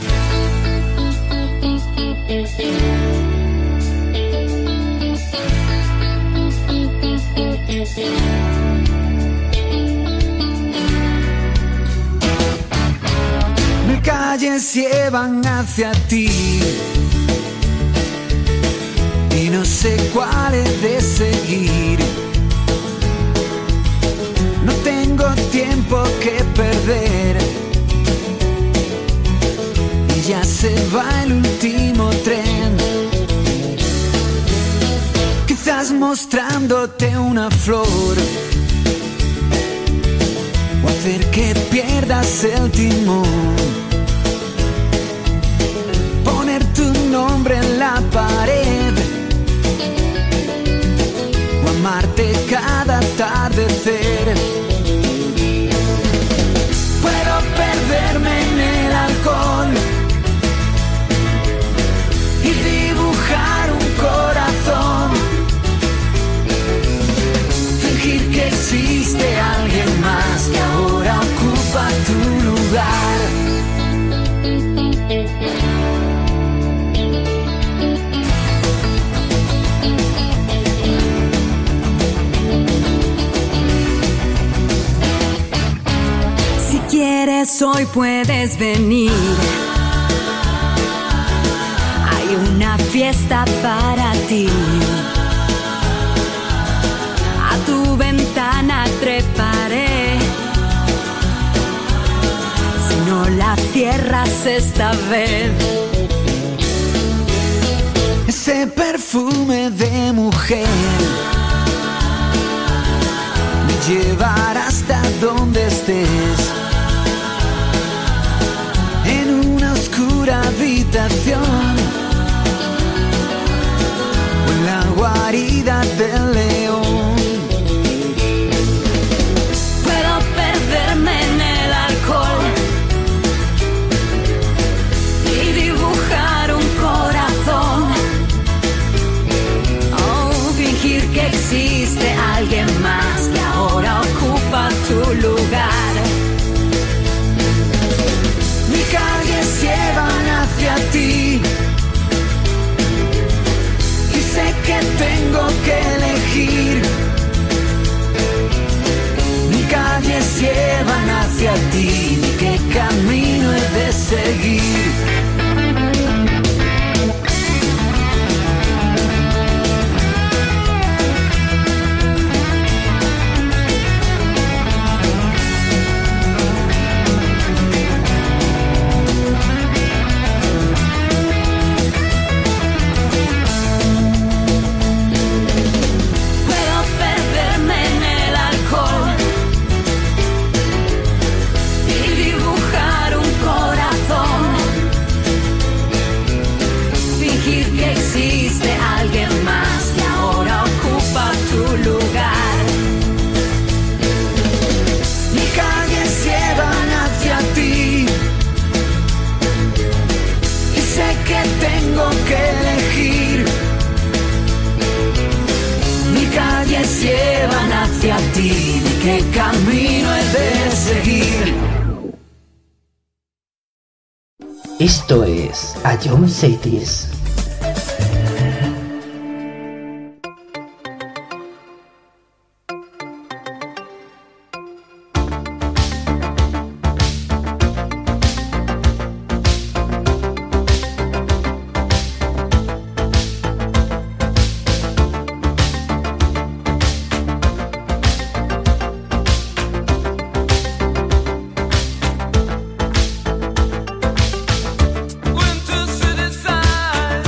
Mil calles llevan hacia ti y no sé cuál he de seguir. No tengo tiempo que perder y ya se va el último tren. Quizás mostrándote una flor o hacer que pierdas el timón. Poner tu nombre en la pared o amarte cada atardecer. Puedo perderme en el alcohol y dibujar un corazón, fingir que existe alguien más que ahora ocupa tu lugar. Si quieres hoy puedes venir. Hay una fiesta para ti. A tu cierras esta vez. Ese perfume de mujer me llevará hasta donde estés, en una oscura habitación o en la guarida del león. Puedo perderme en el alcohol y dibujar un corazón. Oh, fingir que existe alguien más que ahora ocupa tu lugar. Mis calles llevan hacia ti y sé que tengo que elegir. Mis calles llevan hacia ti, ¿qué camino he de seguir? Puedo perderme en el alcohol y dibujar un corazón. Fingir que existe alguien más que ahora ocupa tu lugar. Mis calles llevan hacia ti y sé que tengo que elegir. Mis calles llevan hacia ti, ¿qué camino he de seguir? Esto es A John Cities. Went to city side.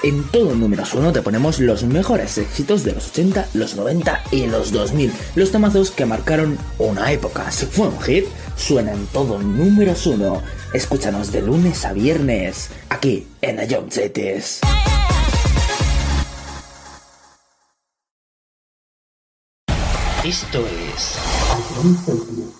En todo números 1 te ponemos los mejores éxitos de los 80, los 90 y los 2000. Los temazos que marcaron una época. Si fue un hit, suena en todo números 1. Escúchanos de lunes a viernes, aquí en A Young Cities. Esto es A Young Cities.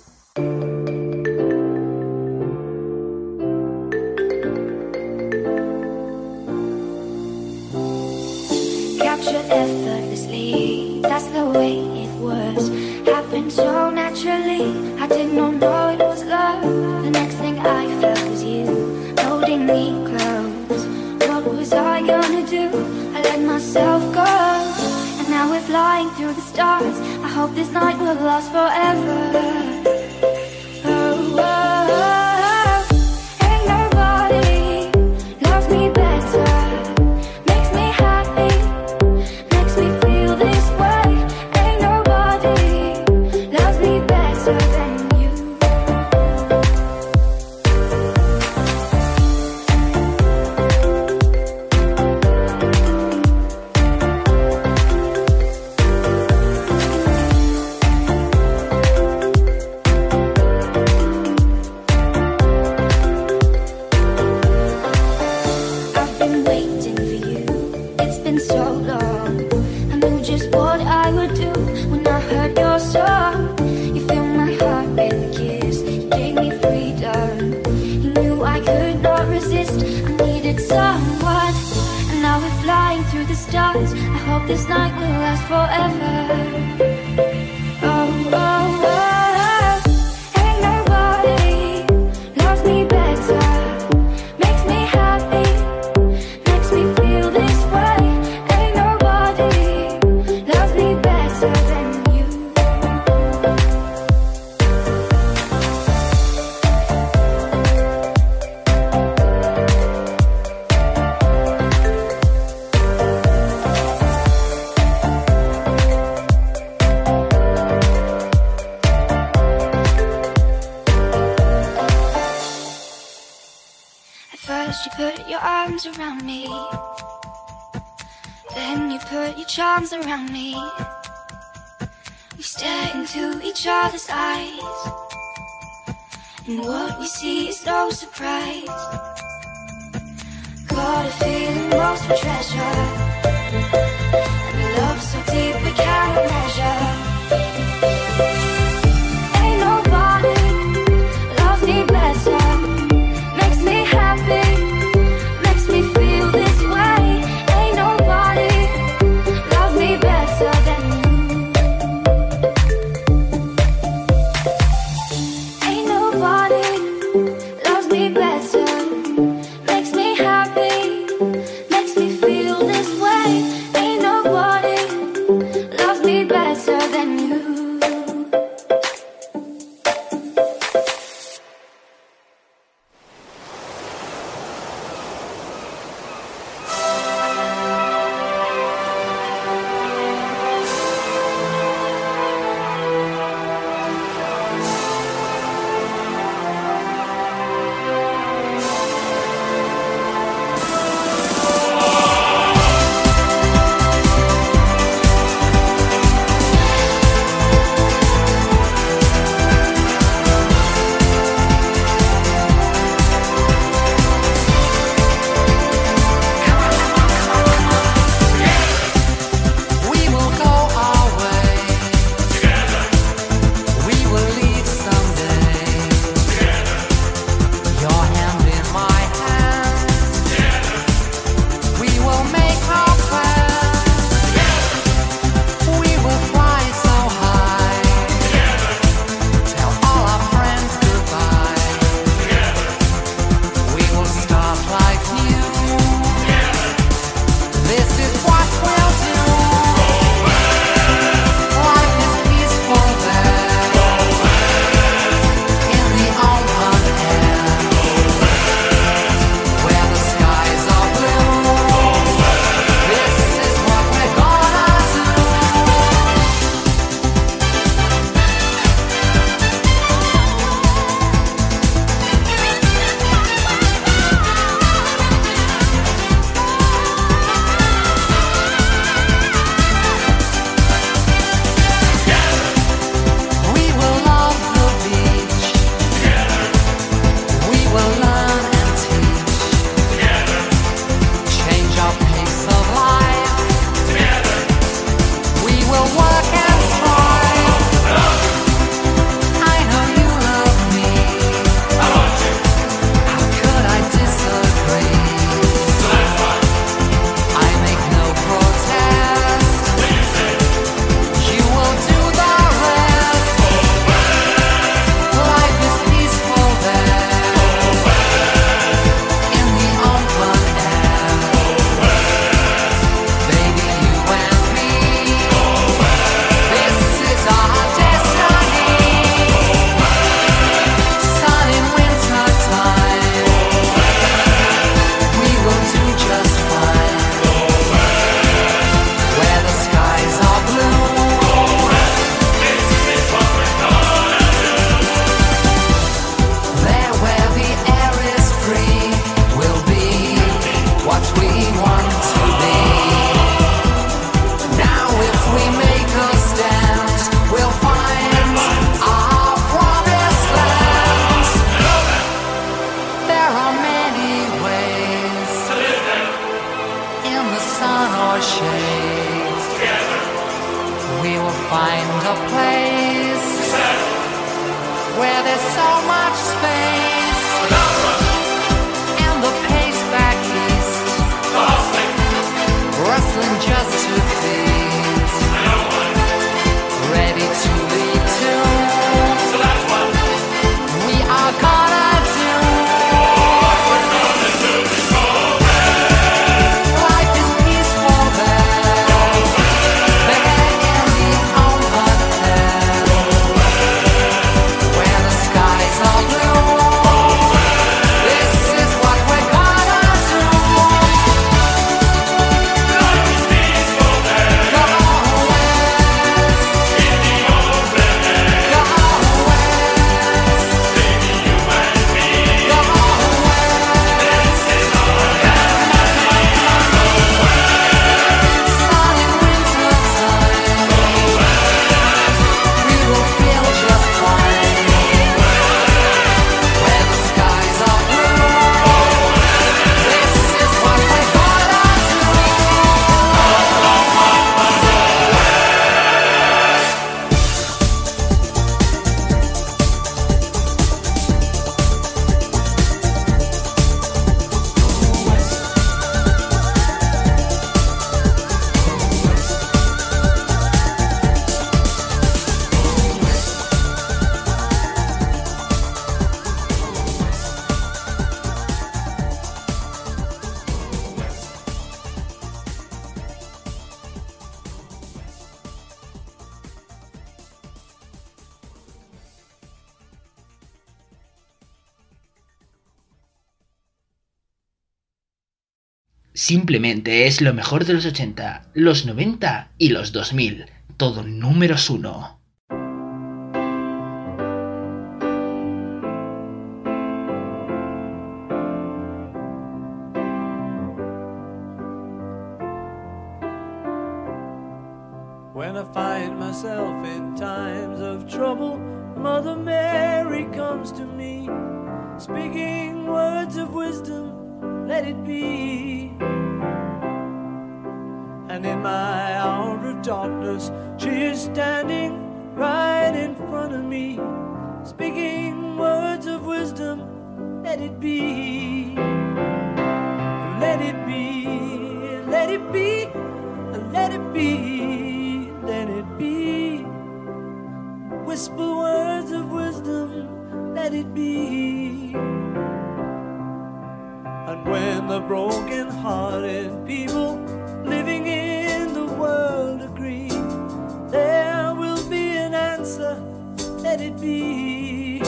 Captured effortlessly, that's the way it was. Happened so naturally, I did not know it was love. The next thing I felt was you, holding me close. What was I gonna do? I let myself go. And now we're flying through the stars. I hope this night will last forever. Oh, oh, oh. Ain't nobody loves me better. Makes me happy, makes me feel this way. Ain't nobody loves me better than you. I've been waiting for you, it's been so long. I knew just what I would do when I heard your song. You filled my heart with a kiss, you gave me freedom. You knew I could not resist, I needed someone. And now we're flying through the stars. I hope this night will last forever. Oh, oh, oh. Ain't nobody loves me better. Makes me happy, makes me feel this way. Ain't nobody loves me better than you. At first you put your arms around me, then you put your charms around me. We stare into each other's eyes, and what we see is no surprise. Got a feeling lost for treasure, and a love so deep we cannot measure. Ain't nobody loves me better. Makes me happy, makes me feel this way. Ain't nobody loves me better than you. Ain't nobody loves me better. Makes me happy, makes me feel this way. Ain't find a place where there's so much space, and the pace back east, rustling just to please, ready to lead to. So that's what we are gonna do. What we're gonna do is go there. Life is peaceful there. There in the open air, where the skies are blue. This is what we're gonna do. Life is peaceful there. Go west. In the open air. Go west. Baby, you and me. Go west. This is our time. Go west. Sun in winter time. Go west. We will feel just fine. Go west. Where the skies are blue. This is what we're gonna do. Simplemente es lo mejor de los 80, los 90 y los 2000. Todo números 1. When I find myself in times of trouble, Mother Mary comes to me, speaking words of wisdom, let it be. And in my hour of darkness, she is standing right in front of me, speaking words of wisdom, let it be. Let it be, let it be, let it be, let it be. Whisper words of wisdom, let it be. And when the broken-hearted people living in the world agree, there will be an answer, let it be.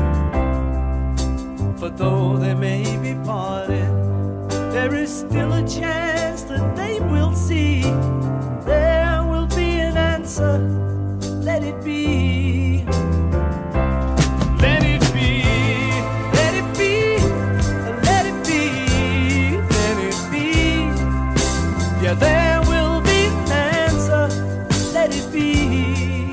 For though they may be parted, there is still a chance that they will see. There will be an answer, let it be. Let it be, let it be, let it be, let it be. Yeah, there will be an answer, let it be.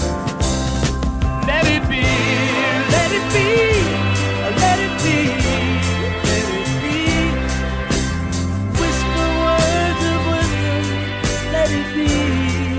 Let it be, let it be, let it be, let it be. Whisper words of wisdom, let it be.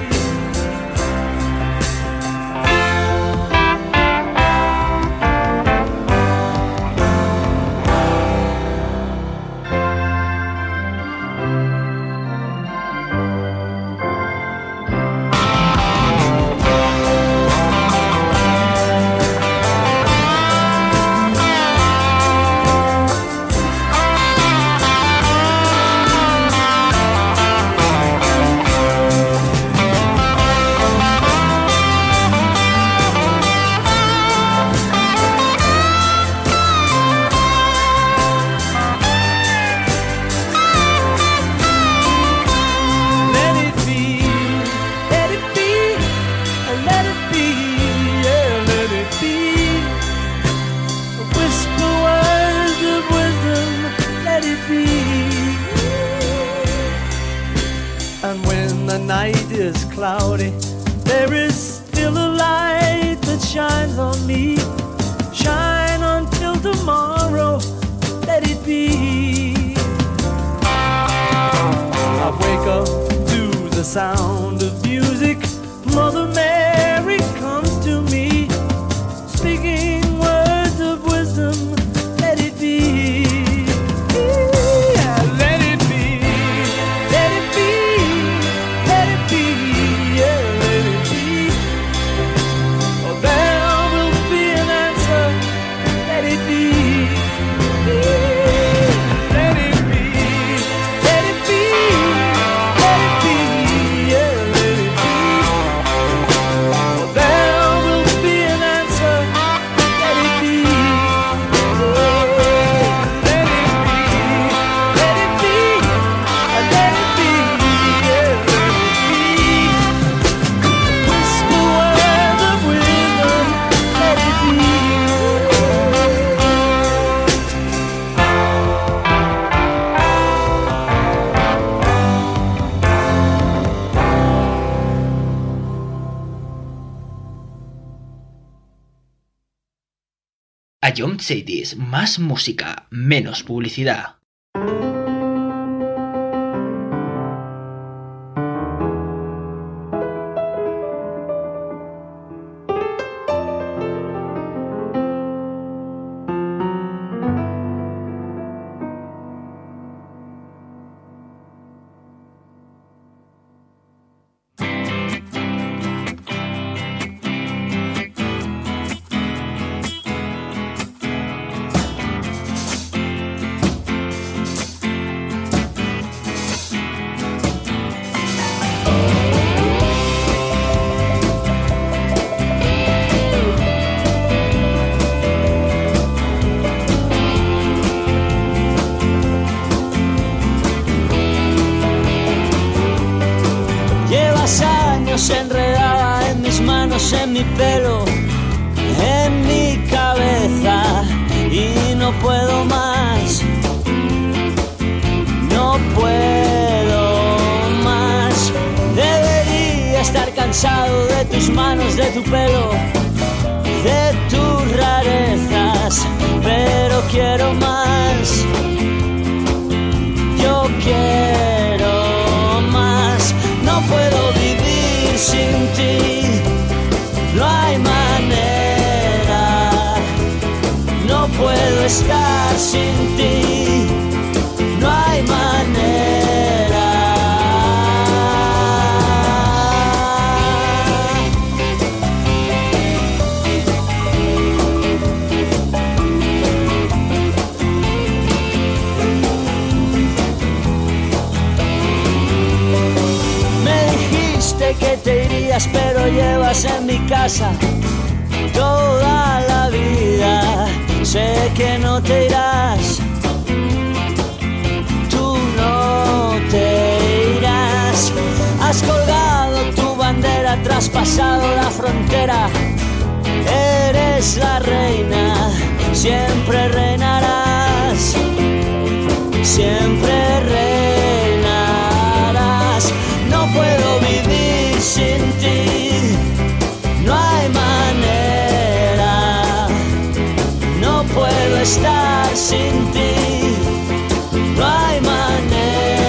And when the night is cloudy, there is still a light that shines on me. Shine until tomorrow, let it be. I wake up to the sound of music, Mother Mary comes to me, speaking words of wisdom. Let it be. Yeah, let it be. Let it be. Let it be. Yeah, let it be. Oh, there will be an answer. Let it be. Let it be. Let it be. Let it be. Yeah, let it be. Oh, there will be an answer. Let it be. Let it be. Let it be. Let it be. Yeah, let it be. Whisper words of wisdom. Let it be. Ion Cities, más música, menos publicidad. Llevas años enredada en mis manos, en mi pelo, en mi cabeza, y no puedo más, no puedo más. Debería estar cansado de tus manos, de tu pelo, de tus rarezas, pero quiero más, yo quiero más. No puedo vivir sin ti, no hay manera. No puedo estar sin ti, no hay manera. Que te irías, pero llevas en mi casa toda la vida. Sé que no te irás, tú no te irás. Has colgado tu bandera, traspasado la frontera. Eres la reina, siempre reinarás, siempre reinarás. No puedo vivir sin ti, no hay manera. No puedo estar sin ti, no hay manera.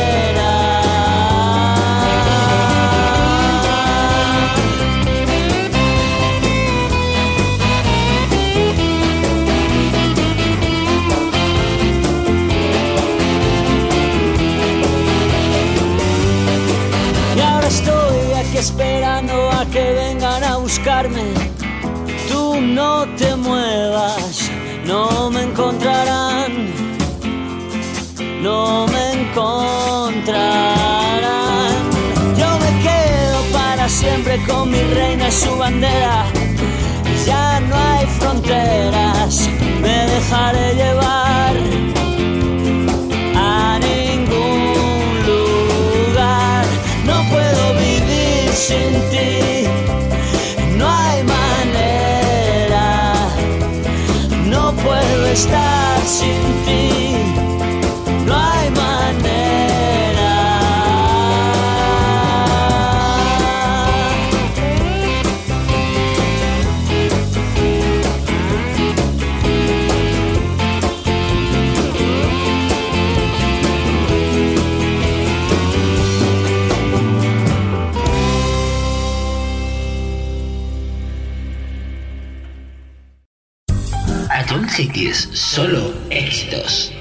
Y ahora estoy aquí esperando a que vengan a buscarme. Tú no te muevas, no me encontrarán, no me encontrarán. Yo me quedo para siempre con mi reina y su bandera. Ya no hay fronteras, me dejaré llevar a ningún lugar. No puedo vivir sin ti, no hay manera. No puedo estar sin ti, no hay manera. Cities, solo éxitos.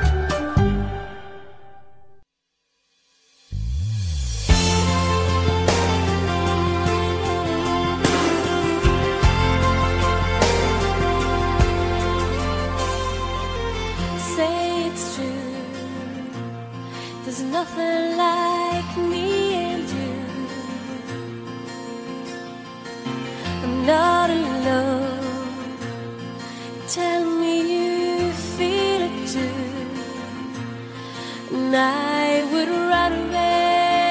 Say it's true. There's nothing like me and you. I'm not alone. Tell me you feel it too. And I would run away.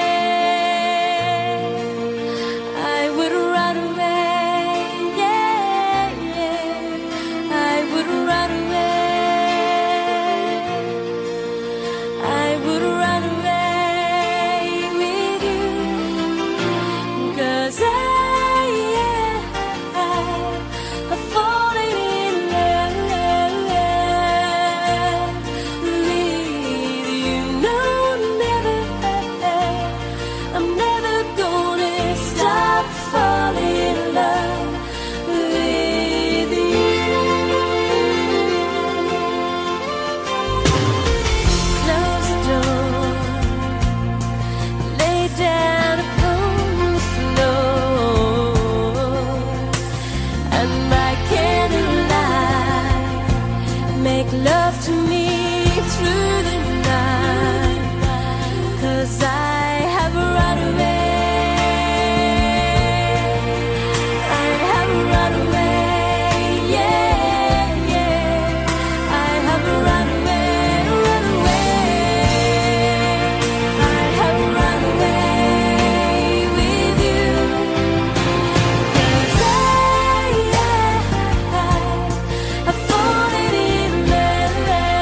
I would run away. Yeah, yeah. I would run away. I would run away with you. 'Cause I've fallen in love with you. No, never. I'm never gonna stop falling in love with you. Close the door, lay down upon the floor, and by candlelight, make love to me through the night. 'Cause I have run away. I have run away. Yeah, yeah. I have run away, run away. I have run away with you. 'Cause I've fallen in love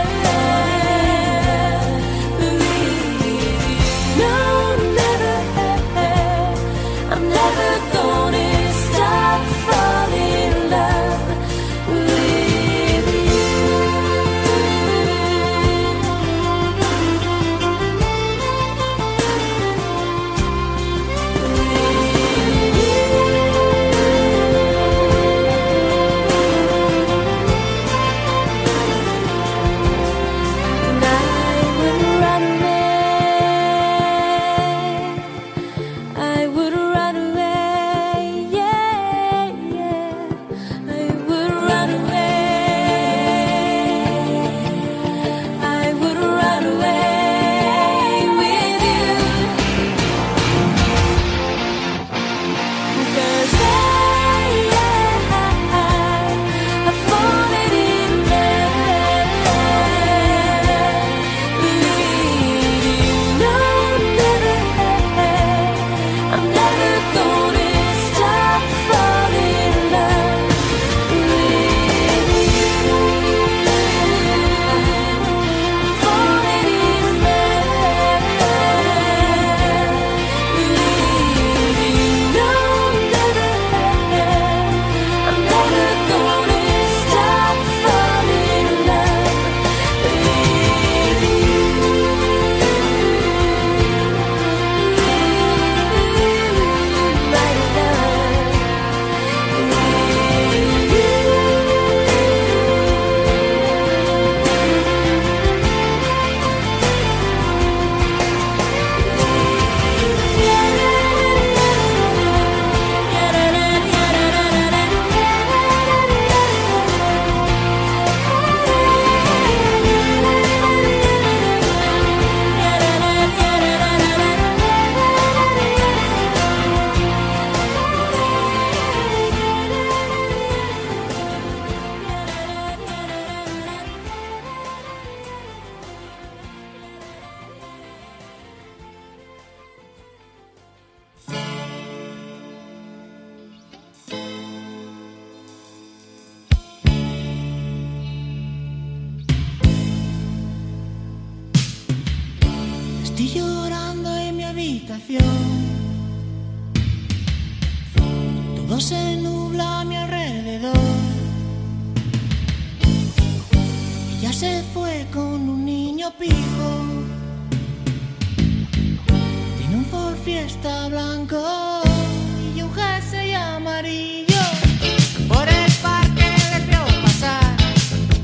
with you. No, never. I'm never gonna stop falling in love with you. And I would run away. I would run away. Yeah, yeah. I would run away. I would run away with you. 'Cause I've fallen in love with you. No, never. I'm never gonna stop falling in love with you. Falling in love with you. No, never. I'm never gonna stop falling in love with you. My Estoy llorando en mi habitación. Todo se nubla a mi alrededor. Ella se fue con un niño pijo. Tiene un Ford Fiesta blanco y un jersey amarillo. Por el parque les vio pasar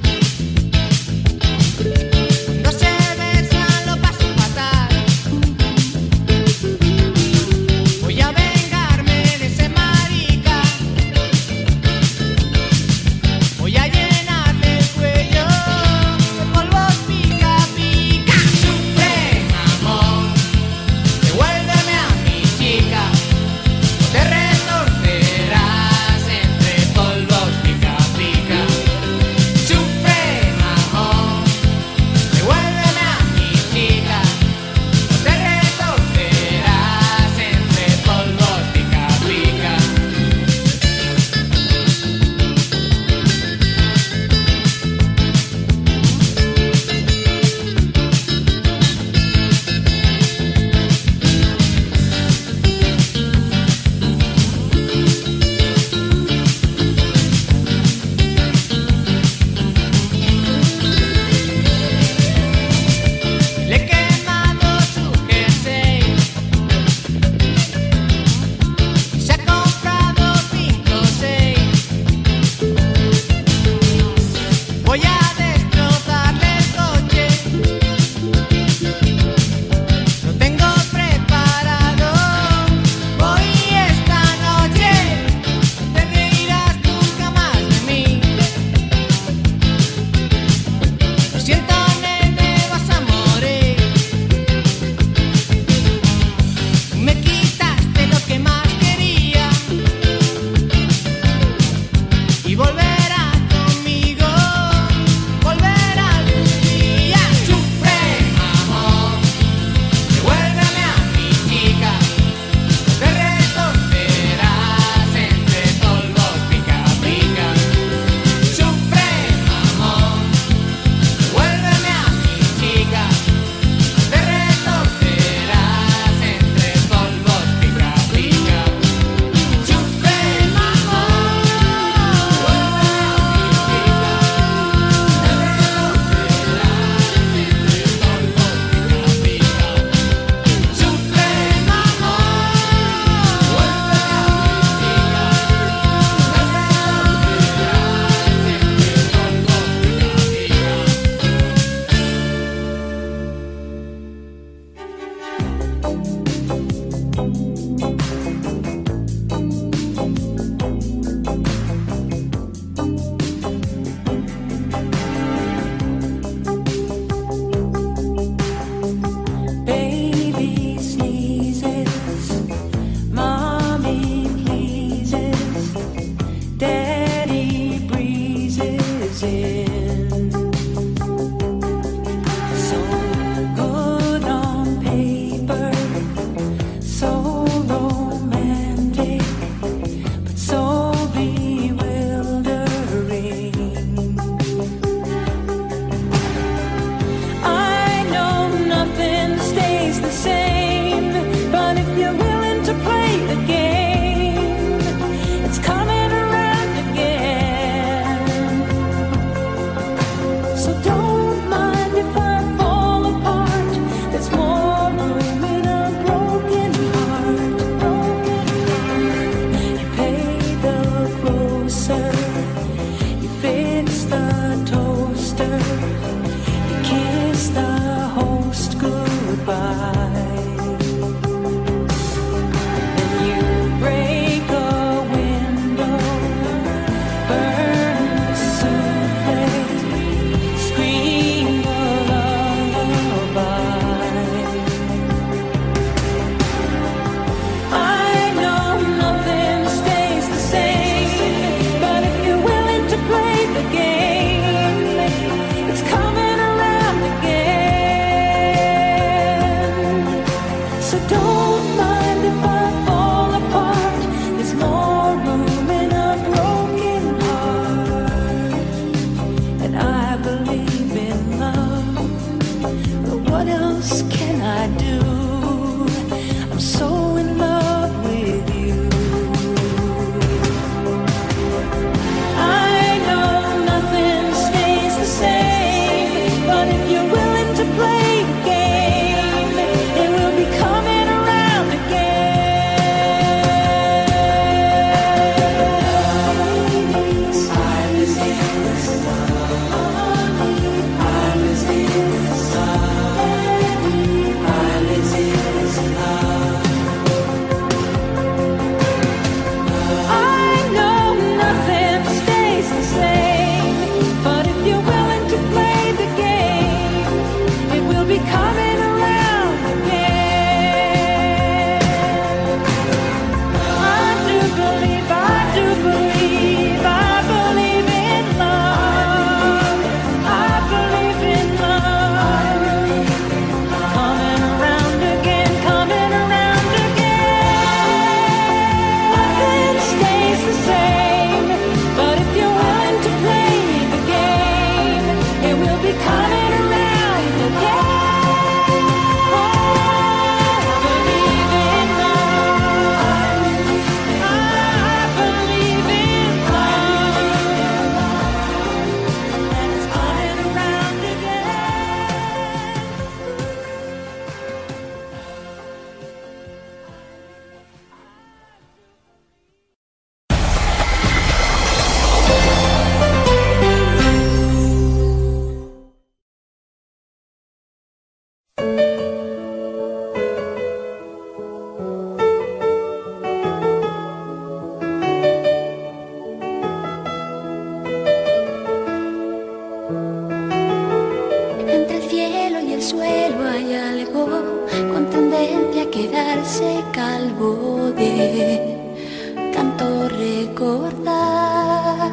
tanto recordar.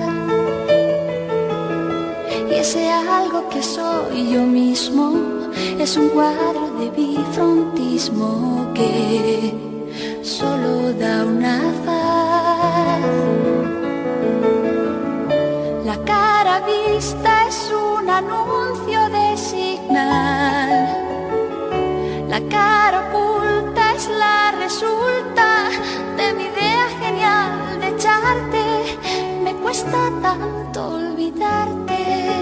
Y ese algo que soy yo mismo es un cuadro de bifrontismo que solo da una faz. La cara vista es un anuncio de señal. La cara oculta es la resulta de mi idea genial de echarte. Me cuesta tanto olvidarte.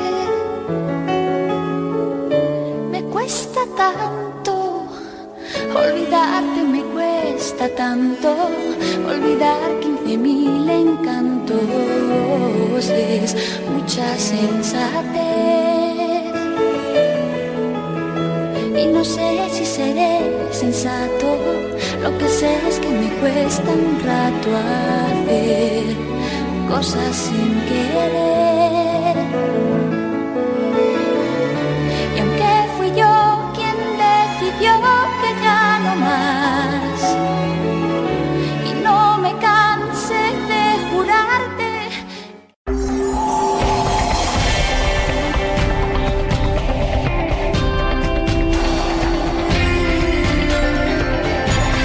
Me cuesta tanto olvidarte, me cuesta tanto olvidar 15.000 encantos. Es mucha sensatez. Y no sé si seré sensato. Lo que sé es que me cuesta un rato hacer cosas sin querer. Y aunque fui yo quien decidió que ya no más